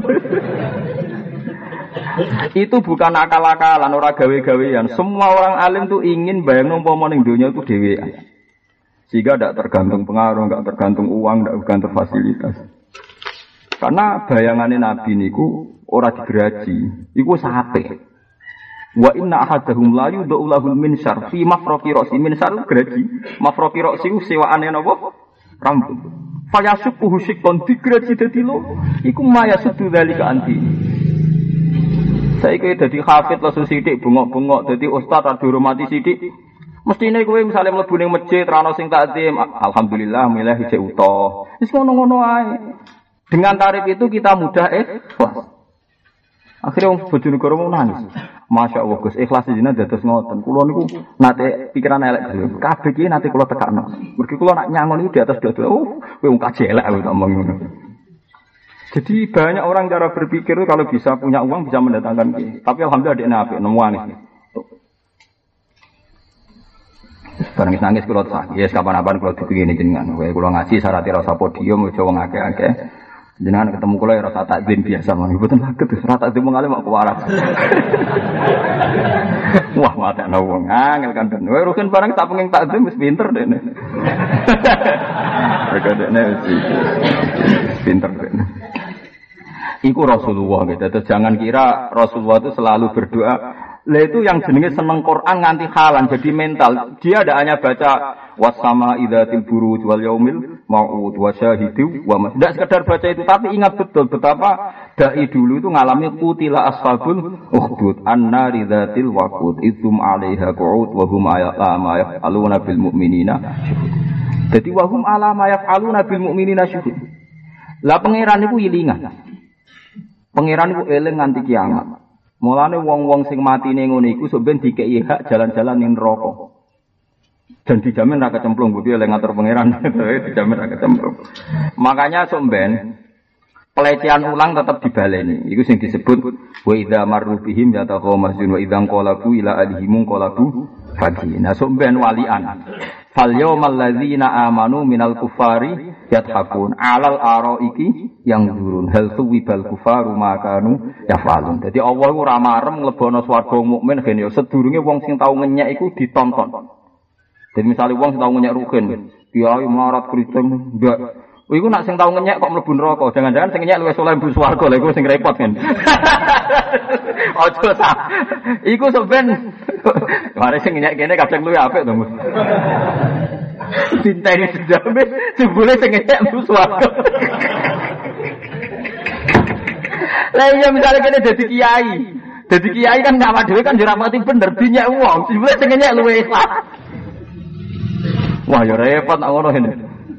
Itu bukan akal-akalan, ora gawe-gawean. Semua orang alim tuh ingin bayang umpama ning donya itu dhewean. Sehingga tidak tergantung pengaruh, tidak tergantung uang, tidak tergantung fasilitas. Karena bayangannya Nabi niku ora digraji, iku sape. Wa inna ahadahum la yudau lahul minsyar fi mafraqi ra'si minsyar graji. Mafraqi ra'si sewaane napa? Rambut. Fayasukuhu syikon digraji dadi lo iku mayasudu dzalika anti. Saiki dadi hafid langsung sithik bengok-bengok dadi ustaz ra dihormati sithik. Mestine kowe misale mlebu ning masjid ra ono sing takzim, alhamdulillah milih isih utuh. Wis ngono-ngono ae. Dengan tarif itu kita mudah ikhlas. Akhire wong bojo negara mau nangis. Masyaallah Gus, ikhlas jenengan dados ngoten. Kula niku nate pikiran elek dhewe. Kabeh iki nate kula tekakno. Mergi kula nak nyangon iki di atas dada. Oh, kowe wong kajelek kowe ngomong ngono. Jadi banyak orang cara berpikir itu kalau bisa punya uang bisa mendatangkan ki. Tapi alhamdulillah dia nabi nangis. Barang nangis kula tak. Ya kapan-kapan kula dipingini jenengan. Kowe kula ngaji syarat rasa podium aja wong akeh-akeh. Jenengan ketemu kula ya rasa takzim biasa mawon. Mboten saged terus rasa takzim mengalih mak kuwaras. Wah, matekno wong angel kandhen. Kowe rugen barang tak pengen takzim wis pinter dene. Rekadene wis pinter dene. Iku Rasulullah gitu. Terus jangan kira Rasulullah itu selalu berdoa. Lah itu yang jenenge seneng Quran nganti halan jadi mental. Dia tidak hanya baca wasama idzatil buruj wal yaumil mau'ud wa syahidu wa mas. Tidak sekedar baca itu tapi ingat betul betapa dai dulu itu ngalami qutila ashabul ukhdud annari dzatil waqud idzum 'alaiha qu'ud wa hum ma yaf'aluna bil mu'minina. Jadi wa hum ala ma yaf'aluna bil mu'minina syuhud. Lah pangeran niku ilingan. Pangeran iku eling nganti kiamat. Mulane wong-wong sing matine ngene iku sok ben dikeki hak jalan-jalan ning neraka. Dan dijamin ra kecemplung, kudu eling ngatur pangeran, dijamin ra kecemplung. Makanya sok ben pelecehan ulang tetap dibaleni. Iku sing disebut wa idza marru bihim yataqamazun wa idza qalabu ila alihim qalabu faqih. Nah sok ben walian. Fal yawmal ladzina amanu minal kufari yathakun alal araiki yang durun hal tuwibal kufaru makanu yafalun. Jadi Allah iku ora marem nglebono swarga mukmin gen yo sedurunge wong sing tau ngenyek iku ditonton. Jadi misalnya wong sing tau ngenyek rugen, kiai marat kriting ndak. Iku nak sing tau ngenyek kok mlebu neraka, jangan-jangan sing ngenyek luwih saleh mlebu swarga lha iku sing repot kan. Ojo ta. Iku sampean mare sing ngenyek kene kadang luwih apik to, Mas. Cinta ini sejame jebule sing ngenyek mlebu swarga. Lah iya misalnya kene dadi kiai. Dadi kiai kan ngawak dhewe kan yo ora mati bener dinyek wong. Jebule sing ngenyek luwih ikhlas. Wah, ya repot nak ngono ngene.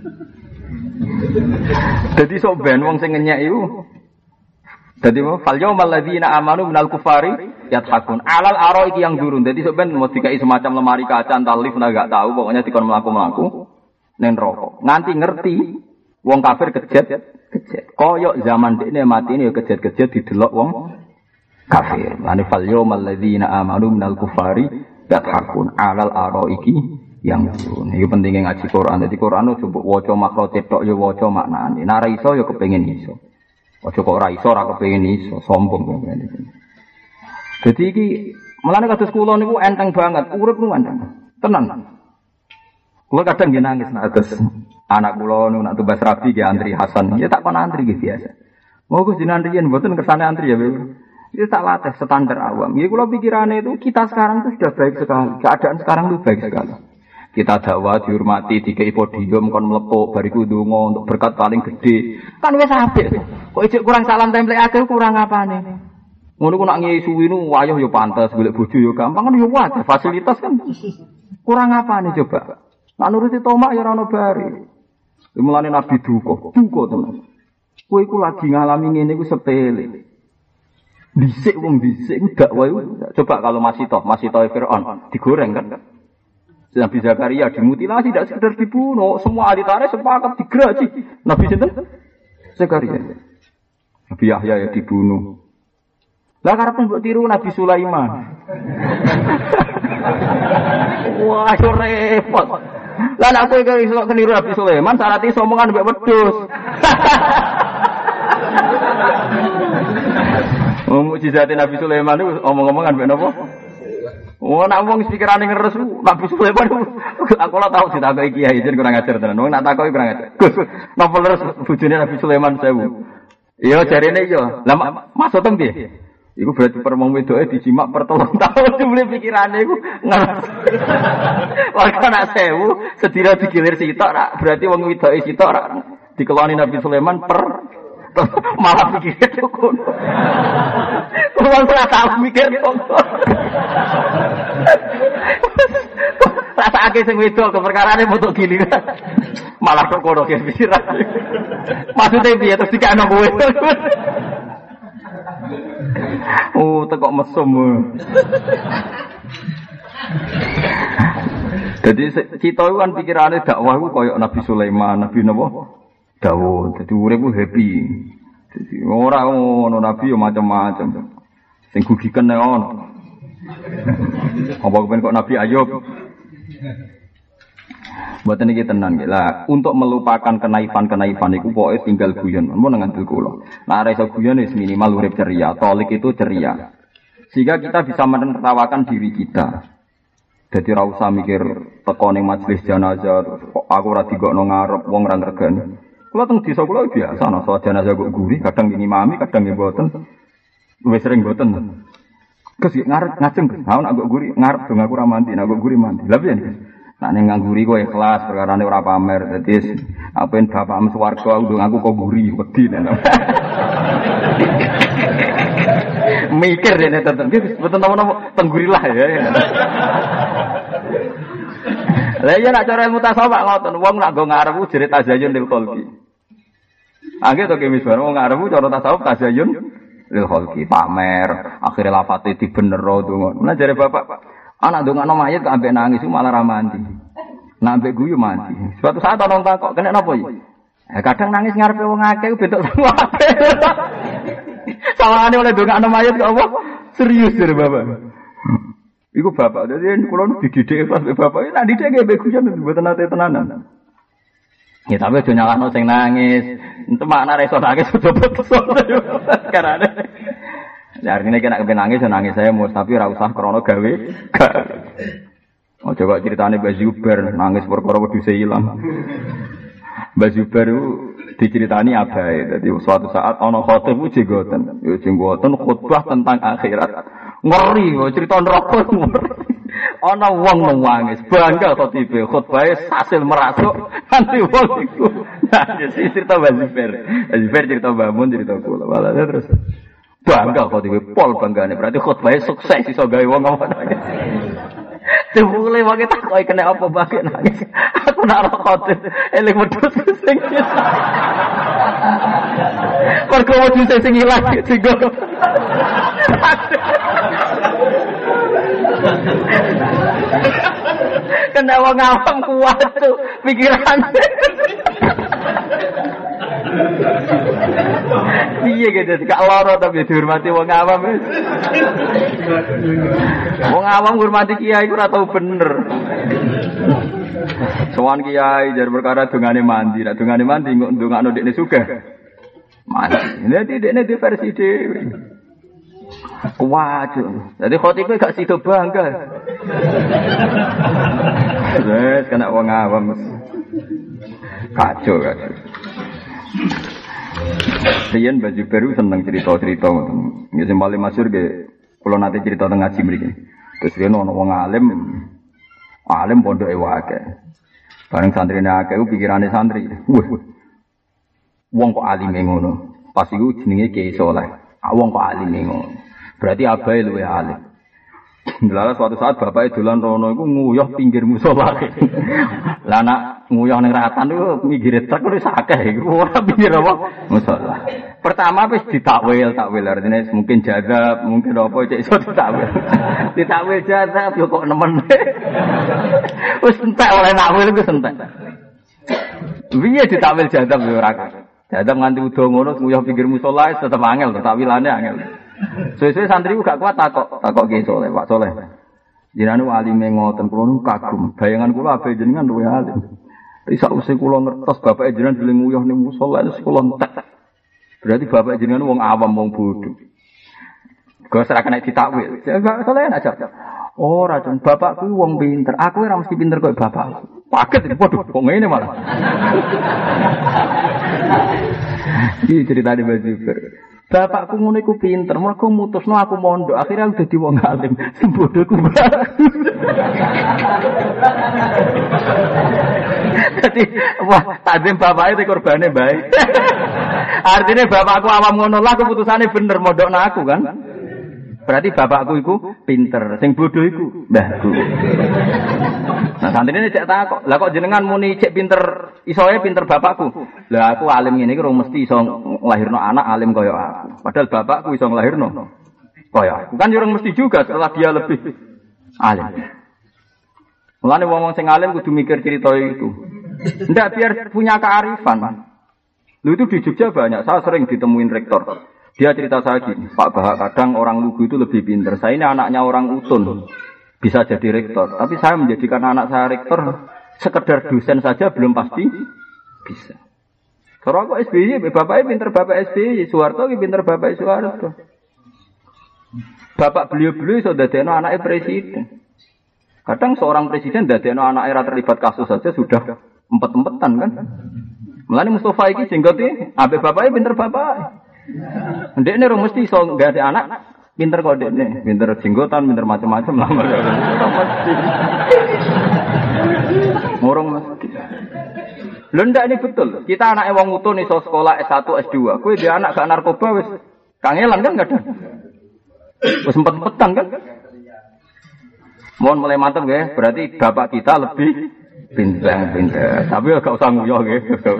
Dadi sok ben wong sing ngenyek iku. Dadi fal yaumal ladzina amanu minal kufari yathakun. Alal araiki yang durun. Dadi sok ben mau dikai semacam lemari kaca entar lift enggak tahu, pokoknya dikon mlaku-mlaku ning neraka. Nganti ngerti wong kafir kejet. Koyok zaman dekne matine ya kejet-kejet didelok wong kafir. Lan fal yaumal ladzina amanu minal kufari yathakun. Alal araiki yang durun. Iki pentinge ngaji Quran. Dadi Quran ojo mbok waca makro cetok ya waca maknane. Nek ora iso ya kepengin iso. Ojo kok ora iso ora kepengin iso, sombong ngene. Dadi iki mulane kados kula niku enteng banget, urip niku enteng. Tenan. Kula kadang nggih nangis nek kados anak kula niku nak tumbas rabi nggih antri Hasan. Ya tak kon antri nggih biasa. Moga jenengan riyen mboten kersane antri ya. Itu tak latih standar awam. Ya kula pikirane itu kita sekarang itu sudah baik sekali. Keadaan sekarang itu baik sekali. Kita dakwah dihormati, dikei podium kon mlepuk bariku ndonga untuk berkat paling gede. Kan wis apik. Kok ijek kurang salam template akeh kurang apane. Ngono ku nak ngisi suwi nu wayah ya pantes, golek bojo ya gampang kan ya wae fasilitas kan. Kurang apane coba. Nak nuruti tomak ya ora ono bare. Mulane Nabi duka tenan. Kowe iku lagi ngalami ngene iku sepele. Dhisik wong dhisik dakwah coba kalau masih toh Firaun digoreng kan. Nabi Zakaria dimutilasi, tidak sekedar dibunuh. Semua ahli tarikh sepakat digraji. Nabi sinten? Zakaria. Nabi Yahya ya dibunuh. Lah karep mbok tiru Nabi Sulaiman. Wah, yo repot. Lah nek kowe iso keniru Nabi Sulaiman, syarat iso omongan mbek wedhus. Mukjizate Nabi Sulaiman itu omong-omongan mbek napa? Oh, nak wong pikirane ngeres Nabi Sulaiman. Aku ora tau ditakoki kiai jen kurang ajar tenan. Wong nak takoki kurang ajar. Gus, napa leres bojone Nabi Sulaiman 1000. Iya jarene iya. Lah maksud tem piye? Iku berarti perempuan wedoke dijimak per 3 tahun dibeli pikirane iku ngeres. Wong nak 1000 sedina digilir sitok rak berarti wong wedoke sitok rak dikeloni Nabi Sulaiman per malah pikir itu kono. Wong ora tau mikir kono. Rasake sing wedok keperkarane foto giliran. Malah kok kono ke pikiran. Maksude piye terus dikano kowe. Oh, tekok mesum. Jadi kita itu kan pikirannya dakwah itu kayak Nabi Sulaiman, Nabi Dawud. Jadi urip ku happy. Jadi ora ono nabi yo macam-macam. Sing gugiken nek ono. Apa kepen kok Nabi Ayub? Mboten iki tenan nggih. Lah, untuk melupakan kenaifan-kenaifan iku pokoke tinggal guyon. Mun ngandel kula. Nah, ora iso guyon wis minimal urip ceria. Tolik itu ceria. Sehingga kita bisa menertawakan diri kita. Jadi ra usah mikir teko ning majelis jenazah terus aku ora digokno ngarep wong ra ngregani. Kula teng desa kula biasa ana salat jenazah kok guri, kadang ngimami, kadang mboten. Luwih sering mboten. Kes ngarep ngajeng, ha nek kok guri ngarep dong aku ra mandi, nek kok guri mandi. Lah piye? Nek ning ngguri kok ikhlas perkarane ora pamer. Dadi apen bapakmu swarga aku kok guri wedi. Mikir dene tetep betul nama tenggurilah ya. Lah iya nak cara ilmu tasawuf ngoten, wong nak go ngarep jere tazayun lil khalqi. Angge to kemis bar wong ngarep cara tasawuf tazayun lil khalqi, pamer, akhire lafate dibenero donga. Nah jare bapak, anak ndongakno mayit kok ambek nangis malah ra mandi. Nak ambek guyu mandi. Suatu saat ana takok, "Kene napa iki?" Kadang nangis ngarepe wong akeh bentuk sawabe. Sawangane oleh ndongakno mayit kok apa? Serius jare bapak. Iku bapak, jadi kula dididik pas bapak, nek didik nggih beguyan mboten nate tenanan. Ya tapi aja nyalahno sing nangis. Entu makna reso nangis sudah betul. Karena ya artine nek kepen nangis nangis saya mus tapi ora usah krana gawe. Oh coba ceritane Mbah Zubair nangis perkara wedhuse ilang. Mbah Zubair diceritani abae. Dadi suatu saat ana khatib jenggoten. Ya jenggoten khutbah tentang akhirat. Ngeri kok cerita neraka ngeri. Ana wong nangis, bangga kok tibe khutbahe hasil merasuk nanti wong iku. Nah, jadi cerita Zubair. Zubair cerita Mbah Mun cerita kula. Walane terus bangga kok tibe pol banggane. Berarti khutbahe sukses iso gawe wong apa nangis. Dibule wae tak koyo kena apa bae nangis. Aku nak khotib eling wedhus sing. Perko wedhus sing ilang digo. Kena wong awam kuat tuh pikiran. Piye gitu gak lara tapi dihormati wong awam. Wong awam ngurmati kiai ora tau bener. Sowan kiai jar perkara dongane mandi, nek dongane mandi ndongakno dekne sugih. Mandi. Nek dekne di versi dhewe. Waduh, jadi khotibnya gak sido bangga. Wes kena wong awam. Kacau. Riyen Mbah Zubair seneng cerita-cerita ngoten. Ya sing paling masyhur ge kula nate cerita teng ngaji mriki. Terus riyen ana wong alim pondoke wae. Bareng santrine akeh pikirane santri. Wong kok alime ngono. Pas iku jenenge Kiai Saleh. Wong kok alime ngono. Berarti abae luwih alim. Lalu suatu saat bapake dolan rono iku nguyuh pinggir musala. Lah anak nguyuh ning ratan iku minggire truk wis akeh iku ora pinggir apa musala. Pertama wis ditakwil artinya mungkin jazab, mungkin apa cek iso ditakwil. Ditakwil jazab yo kok nemen. Wis entek oleh nakwil iku entek. Piye ditakwil jazab yo ora. Jazab nganti udo ngono nguyuh pinggir musala tetep angel, takwilane angel. Suwe-suwe santri ku gak kuat takok Kiai Saleh, Pak Saleh. Jenengan alime ngoten kula nu kagum. Bayangan kula ape jenengan luwih alim. Isa usih kula ngertos bapak jenengan dhewe nguyuh ning musala wis kula entek. Berarti bapak jenengan wong awam wong bodho. Kok ora kena ditakwil. Pak Saleh aja. Ora, Jon, bapakku wong pinter. Aku ora mesti pinter kok bapakku. Paket waduh kok ngene malah. Iki cerita di Mbah Zubair. Bapakku ngono iku pinter, mergo mutusno aku mondok, akhirnya aku dadi wong alim. Sembodoku bagus. Dadi wah, takdim bapake te korbane bae. Artinya bapakku awam ngono lah keputusane bener mondokno aku kan. Berarti bapakku iku pinter, sing bodoh iku mbahku. Nah, santrine cek takok, "Lah kok jenengan muni cek pinter, isoe pinter bapakku?" Lah aku alim ngene iki ora mesti iso nglahirno anak alim kaya aku. Padahal bapakku iso nglahirno Oh ya, bukan orang mesti juga setelah dia lebih alim. Mulane wong-wong sing alim kudu mikir cerita itu. Ndak biar punya kearifan. Lu itu di Jogja banyak, saya sering ditemuin rektor. Dia cerita saya gini, Pak Bahak, kadang orang lugu itu lebih pintar. Saya ini anaknya orang utun, bisa jadi rektor. Tapi saya menjadikan anak saya rektor, sekedar dosen saja belum pasti bisa. Kalau aku SBY, bapaknya pintar bapak SBY, Soeharto pintar bapak Soeharto. Bapak beliau-beliau sudah dadekno anaknya presiden. Kadang seorang presiden dadekno anaknya ra terlibat kasus saja sudah empet-empetan kan. Mulane Mustafa iki jenggote ambek bapaknya pinter bapak. Ndekne ora mesti iso gak ada anak pinter kok ndekne, pinter jenggotan, pinter macam-macam lah. Mesti. Murung mesti. Lho ndak ini betul. Kita anake wong utun iso sekolah S1, S2. Kowe dia anak gak narkoba wis kangelan kan kadang. Wis empet-empetan kan. Mohon mulai mantap nggih, berarti bapak kita lebih pinter. Tapi gak usah nguyoh nggih.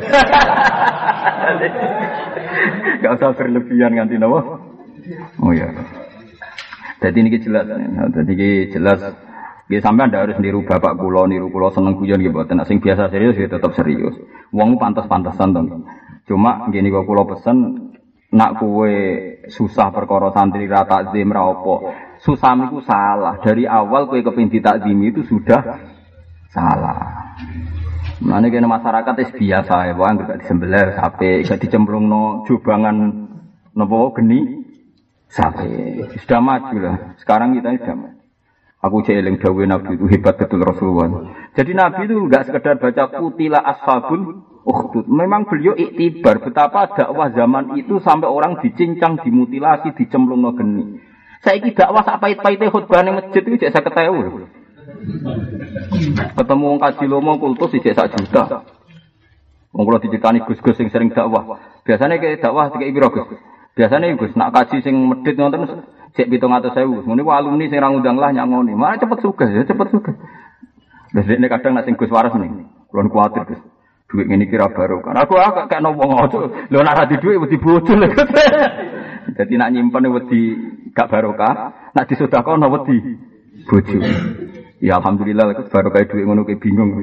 Gak usah berlebihan nganti napa? Oh ya. Jadi ini jelas. Jadi ini jelas. Nggih sampean ndak harus niru bapak kula, niru kula seneng guyon nggih mboten. Nek sing biasa serius ya tetep serius. Wong pantes-pantesan to. Cuma ngene kok kula pesen nak kowe susah perkara santri ra takzim ra apa. Susah iku salah. Dari awal kowe kepengin ditakzimi itu sudah salah. Mane kene masyarakat wis biasa ya, wong gak disembelih sapi, gak dicemplungno jubangan napa geni sapi. Sudah maju lah. Sekarang kita sudah maju. Aku jeeling dawuh Nabi itu hebat betul Rasulullah. Jadi Nabi itu enggak sekedar baca kutila ashabul ukhdud. Memang beliau iktibar betapa dakwah zaman itu sampai orang dicincang, dimutilasi, dicemplungno geni. Saiki dakwah sak pait-paite khutbah ning masjid itu jek 50.000. Ketemu wong kaji lomo kultus jek 1 juta. Wong kula dicitani Gus-gus sing sering dakwah. Biasane ke dakwah dikek piro Gus? Biasane Gus nak kaji sing medhit nonton cek 700.000. Ngene ku alumni sing ra ngundang lah nyangoni. Malah cepet sugih ya, cepet sugih. Wis dekne kadang nak sing Gus waras nih. Kulon kuwatir Gus. Duit ngene kira barokah. Aku gak nopo ngono. Lho nak ra di dhuwit wedi bojo lho. Dadi nak nyimpen wedi gak barokah, nak disedekahno wedi bojo. Ya alhamdulillah lek barokah dhuwit ngono ke bingung.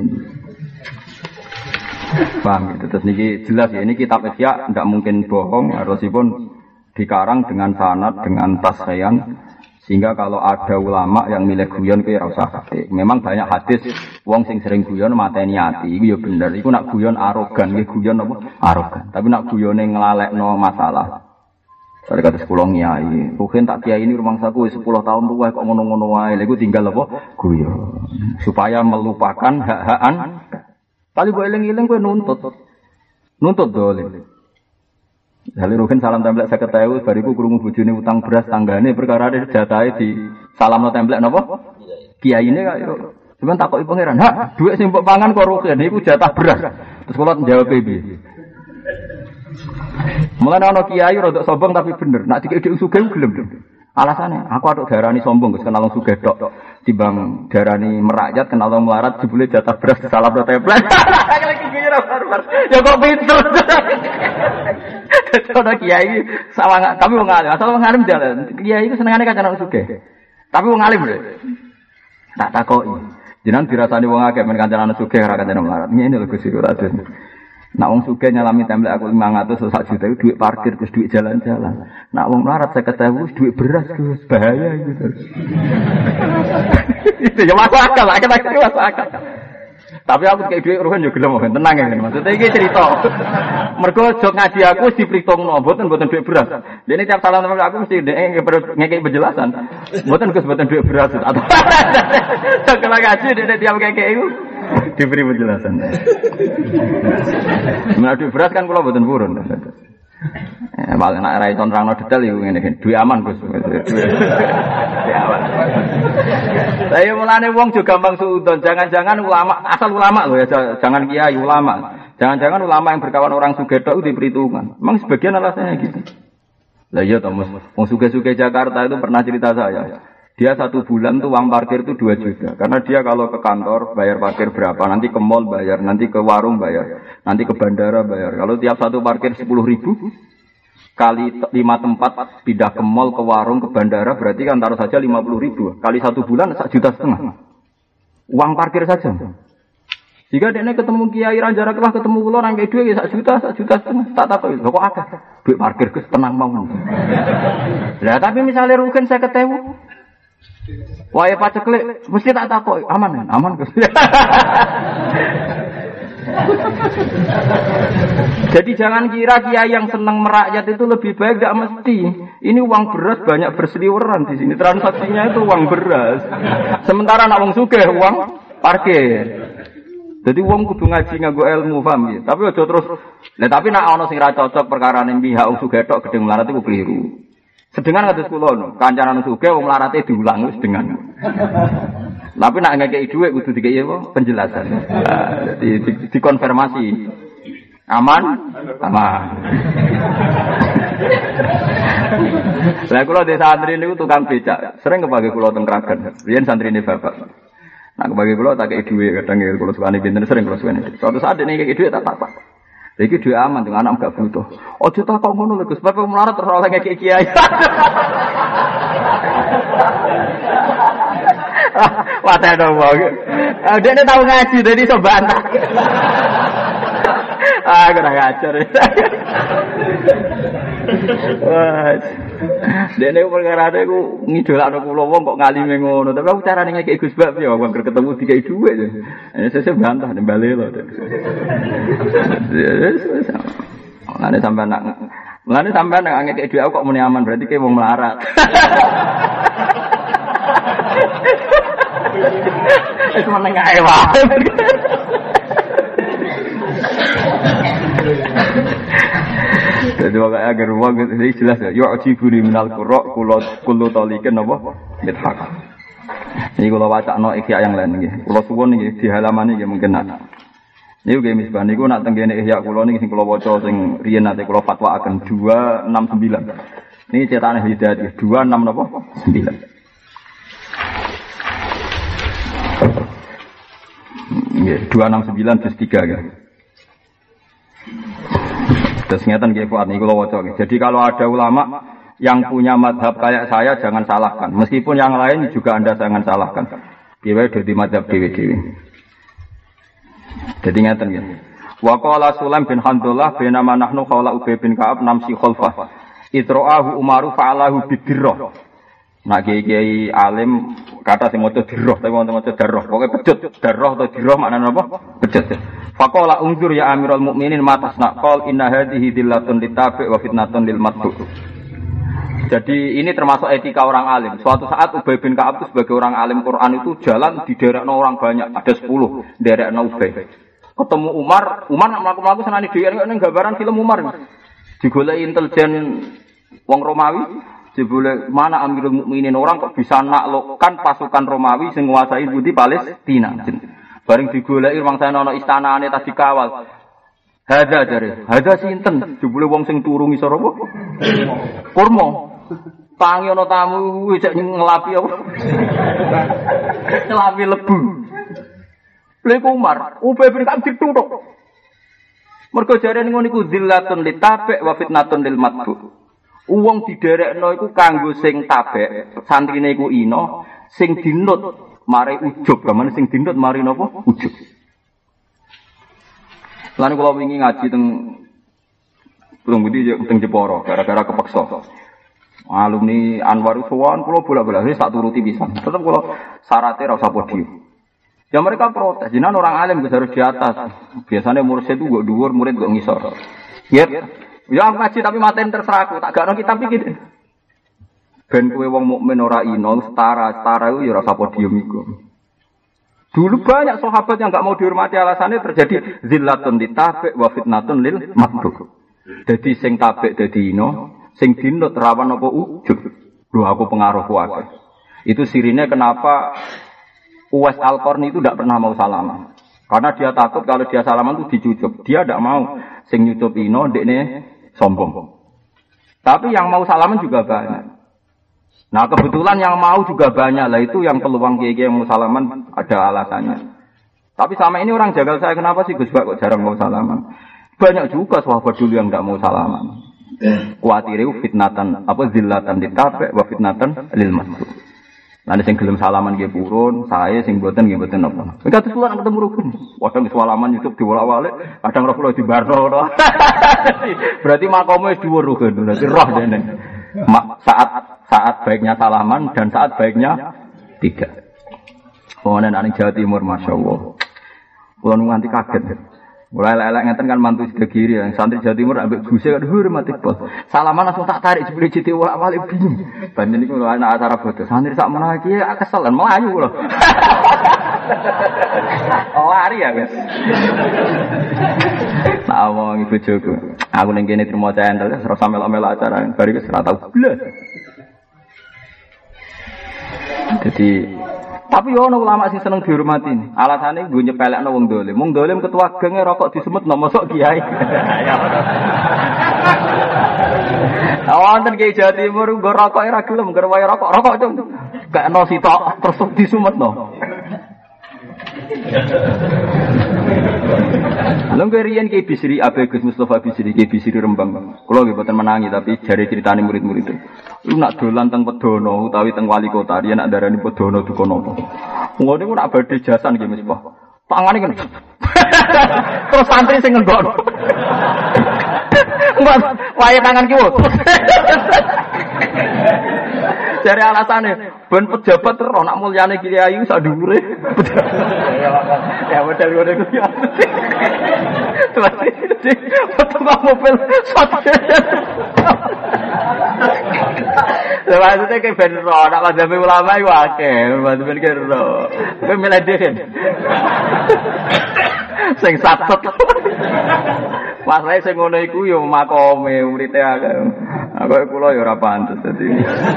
Paham gitu. Terus niki jelas ya ini kitab Ihya ndak mungkin bohong, harusipun dikarang dengan sanad, dengan tasrihan, sehingga kalau ada ulama yang milih guyon kuwi ora usah pakai. Memang banyak hadis wong sing sering guyon mateni ati, iku ya bener. Iku nak guyon arogan, nggih guyon apa? Arogan. Tapi nak guyone nglalekno masalah. Sare kata sekolah kiai, mungkin tak kiai ini rumah saku 10 tahun tuwa kok ngono-ngono wae. Lha iku tinggal apa? Guyon. Supaya melupakan hak-hakan. Kali kowe eling-eling kowe nuntut dolen. Lalu Rukin salam template 50.000 bariku krungu bojone utang beras tanggane perkara jatahe di salamno template napa? Kiyaine kaya cuman takoki pangeran, "Hak, dhuwit sing mbok pangan kok Rukin niku jatah beras." Terus kula njawab piye? Mulane ana kiai rada sombong tapi bener, nak dikek sugih gelem. Alasannya, aku atuk darani sombong, Gus kenal wong sugih tok. Timbang darani merakyat kenal wong melarat jebule jatah beras salamno template. Lagi kira barbar. Ya kok pinter. Ada kiai sama kami wong alim, asal wong alim jalan. Kiai itu senengane kancanan sugih. Tapi wong alim lho. Tak takoki. Jenengan dirasani wong akeh men kancanan sugih ora kancanan melarat. Ngene lho Gus iku raden. Nak wong sugih nyalami template aku 500 atau 1 juta itu duit parkir terus duit jalan-jalan. Nak wong melarat 50.000 duit beras Gus, bahaya gitu. Itu ya masuk akal, akhir-akhir masuk akal. Tapi aku kayak duit Ruhin yo gelem kan tenang ya maksudnya iki cerita. Mergo jog ngaji aku wis diperhitungno mboten duit beras. Dene tiap salam sama aku mesti ngekek penjelasan. Mboten Gus mboten duit beras atau. Kalau ngaji dene tiap ngekek iku diberi penjelasan. Menawa duit beras kan kula mboten purun. Malah nek ra iso nerangno detail iku ngene iki. Duit aman Gus. Duit aman. Saya mulane wong juga gampang suudon. Jangan-jangan ulama, asal ulama loh ya, jangan kiai ulama. Jangan-jangan ulama yang berkawan orang sugih tok itu diperhitungkan. Memang sebagian alasannya gitu. Lah iya toh, wong sugih-sugih Jakarta itu pernah cerita saya. Dia 1 bulan tuh uang parkir itu 2 juta. Karena dia kalau ke kantor bayar parkir berapa, nanti ke mall bayar, nanti ke warung bayar, nanti ke bandara bayar. Kalau tiap satu parkir 10.000, kali 5 tempat pindah ke mall, ke warung, ke bandara berarti kan taruh saja 50.000 kali 1 bulan 1,5 juta uang parkir saja. Jika dia ketemu Kiai Ranjara kelah ketemu kula nang kei dhuwit 1 juta 1,5 juta tak takoki kok akeh duit parkir Gus tenang mawon. Lah tapi misalnya rugen 50.000 wae paceklik mesti tak takoki aman Gus. Jadi jangan kira kiai yang senang merakyat itu lebih baik, tidak mesti. Ini uang beras banyak berseliweran di sini. Transaksinya itu uang beras. Sementara nak wong sugih uang parkir. Jadi wong kudu ngaji nganggo ilmu, paham ya? Tapi aja terus. Lah tapi nak ana sing ra cocok perkara ning pihak wong sugih tok gedeng melarat iku keliru. Sedengan kados kula no, kancanan sugih wong melarate diulang wis dengan. Tapi nak ngekeki dhuwit kudu dikeki apa? Penjelasan. Jadi dikonfirmasi. Aman. Lah kula di santri niku tukang becak, sering kepake kula teng Kragan. Riyen santrine bapak. Nak kepake kula tak kei dhuwit kadang kula sukane pinten sering kula suwene. Suatu saat nek ngekeki dhuwit tak apa. Iki dhuwit aman teng anak gak butuh. Aja takok ngono lho Gus, bapak melarat terus oleh ngekeki kiai. Wah, tak ada wong. Dia tahu ngaji, jadi iso bantah. Kurang ajar. Wah. Dene perkara aku ngidolakno kula wong kok ngalime ngono, tapi aku carane ngekeki Gus Bab ya wong ketemu dikai dhuwit. Sesuk bantah nembale lho. Mulane sampean nek ngekeki dhuwit aku kok muni aman berarti ke wong melarat. Wis meneng ae wae. Jadi wae agar wong iki jelas ya yu'jibuni minal qurra kullu talikin apa mithaq. Iki kula wacana ihya yang lain nggih. Kula suwun nggih di halaman iki mungkin nak. Niku nggih misbah niku nak tenggene ihya kula niki sing kula waca sing riyen nate kula fatwaaken 269. Niki cetane Hidayat 26 napa 9. Nggih 269 juz 3 ya. Terus ngeten nggih Fuad niku kula waca. Jadi kalau ada ulama yang punya madhab kayak saya jangan salahkan. Meskipun yang lain juga Anda jangan salahkan. Piye dadi madhab dhewe-dhewe. Jadi ngeten nggih. Wa qala Sulaim bin Handullah bainama nahnu qala Ubay bin Ka'ab namsi khalfah. Itra'ahu Umaru fa'alahu bidirrah. Nak kiai alim kata sing maca dirrah tapi wonten maca darrah. Pokoke pecut darrah atau dirrah maknane apa? Pecut. Faqala unzur ya Amirul Mukminin matasna qol inna hadhihi dillatun litabi' wa fitnatun lil matbu'. Jadi ini termasuk etika orang alim. Suatu saat Ubay bin Ka'ab itu sebagai orang alim Quran itu jalan di derekno orang banyak, ada 10 derekno Ubay. Ketemu Umar nak mlaku-mlaku senane dhewe ning gambaran film Umar. Digoleki intelijen wong Romawi, jebule mana Amirul Mukminin orang kok bisa naklukkan pasukan Romawi sing nguasai budi Palestina. Bareng digoleki rumangsane ana istanane tadi kawal. Hadza sinten? Jebule wong sing turu ngisor apa? Kurma. Tangi ana tamu cek ngelapi apa? Ngelapi lebu. Lha Umar, Ubay bin Ka'ab dituthuk. Mergo jarene ngono iku zillatun litabi' wa fitnatun lil matbu'. Wong diderekno iku kanggo sing tabek, santrine iku ino, sing dinut mari ujug, gamane sing dinut mari napa? Ujug. Lan kula wingi ngaji teng Budi teng Jepara gara-gara kepeksa. Alumni Anwar Sowan kula bola-bola wis tak turuti pisan. Tetep kula syaratnya ra usah podium. Ya mereka protes, jenengan orang alim harus di atas. Biasanya mursyid itu gak dhuwur, murid gak ngisor. Ya aku ngaji tapi maten terserah aku, tak gak kitab iki. Ben kowe wong mukmin ora ino, setara iku ya ora podium iku. Dulu banyak sahabat yang gak mau dihormati alasannya terjadi zillatun litabi' wa fitnatun lil matbu'. Dadi sing tabik dadi ino, sing dinut rawan apa ujug. Lho aku pengaruh kuat. Itu sirine kenapa Uwais Al-Qarni itu tidak pernah mau salaman. Karena dia takut kalau dia salaman itu dicucup. Dia tidak mau sing nyucup ino, dekne sombong. Tapi yang mau salaman juga banyak. Nah kebetulan yang mau juga banyak. Lah itu yang peluang kiai yang mau salaman ada alasannya. Tapi sama ini orang jagal saya, kenapa sih Gus Bak kok jarang mau salaman? Banyak juga sahabat dulu yang tidak mau salaman. Kuatire fitnatan apa zillatan ditabe wa fitnatan lil masuk. Nanti sing gelem salaman nggih purun, saya sing mboten nggih mboten napa. Kita terus lan ketemu rukun. Kadang salaman YouTube diwolak-walik, kadang roh kula dibarno. Berarti makomu wis dhuwur rukun, berarti roh dene. Saat baiknya salaman dan saat baiknya tidak. Pokoknya nang Jawa Timur masyaallah. Kula nganti kaget. Mulai elek ngeten kan mantu Sidagiri yang santri Jawa Timur ambek guse kan hormati bos. Salaman langsung tak tarik jebule jiti wala-walik bingung. Banten niku lho anak acara foto. Santri sak menawa iki keselan melayu lho. Lari ya, guys. Nah, wong ibu bojoku. Aku ning kene trimo centel terus melok-melok acara bar iki ora tau blas. Jadi tapi yo ono ulama sing seneng dihormati. Alasane nggo nyepelekno wong dolim. Wong dolim ketua genge rokok disemetno mosok kiai. Wonten kiai Jawa Timur nggo rokok ora gelem, nggo wae rokok cung. Gak ono sitok terus disumetno. Lha riyen Ki Bisri Abe Gus Mustofa Bisri Ki Bisri Rembang. Kula nggih boten menangi tapi jare critane murid-murid. Lu nak dolan teng Pedono utawi teng wali kota riyen nak darani Pedono duka napa. Ngono niku nak badhe jasan nggih Mas Pak. Tangane kan. Terus santri sing ngenggok. Mbak, wae tangan kiwo. Dari alasane ben pejabat terus nak mulyane kiai sak dhuwure. Ya model ngono iku ya. Foto mobil satu. Maksudnya kayak ben ro, nak mazhab ulama iku akeh, mazhab ben ro. Kowe milih dhewe. Sing satut. Masalahe sing ngono iku ya makome urite akeh. Aku kula ya ora pantes dadi.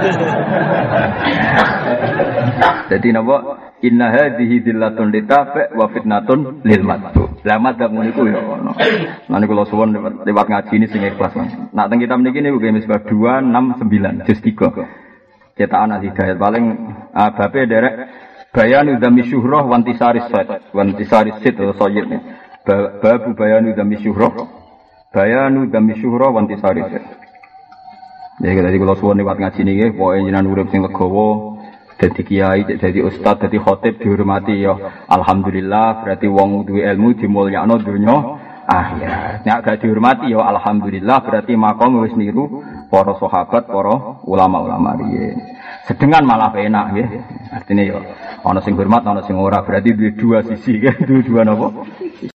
Dadi napa inna hadhihi dillatun litafa wa fitnatun lil matbu. Lah madzhab niku ya ono. Lan kula suwun lewat ngaji ini sing ikhlas. Nak teng kitab niki niku misbah 269 juz 3. Cetakan Al-Hidayat paling babe derek bayanu dzami syuhrah wantisaris sad. Wantisaris sid atau sayyid. Babu bayanu dzami syuhrah. Bayanu dzami syuhrah wantisaris sad. Ya tadi kula suwun lewat ngaji niki pokoke jenengan urip sing legowo. Dadi kiai, dadi ustaz, dadi khatib dihormati ya. Alhamdulillah berarti wong duwe ilmu dimulyakno donya akhirat. Nek gak dihormati ya alhamdulillah berarti makom wis niru para sahabat, para ulama-ulama riyen. Sedengan malah enak nggih. Artine ya ana sing hormat, ana sing ora. Berarti duwe dua sisi nggih, dua napa?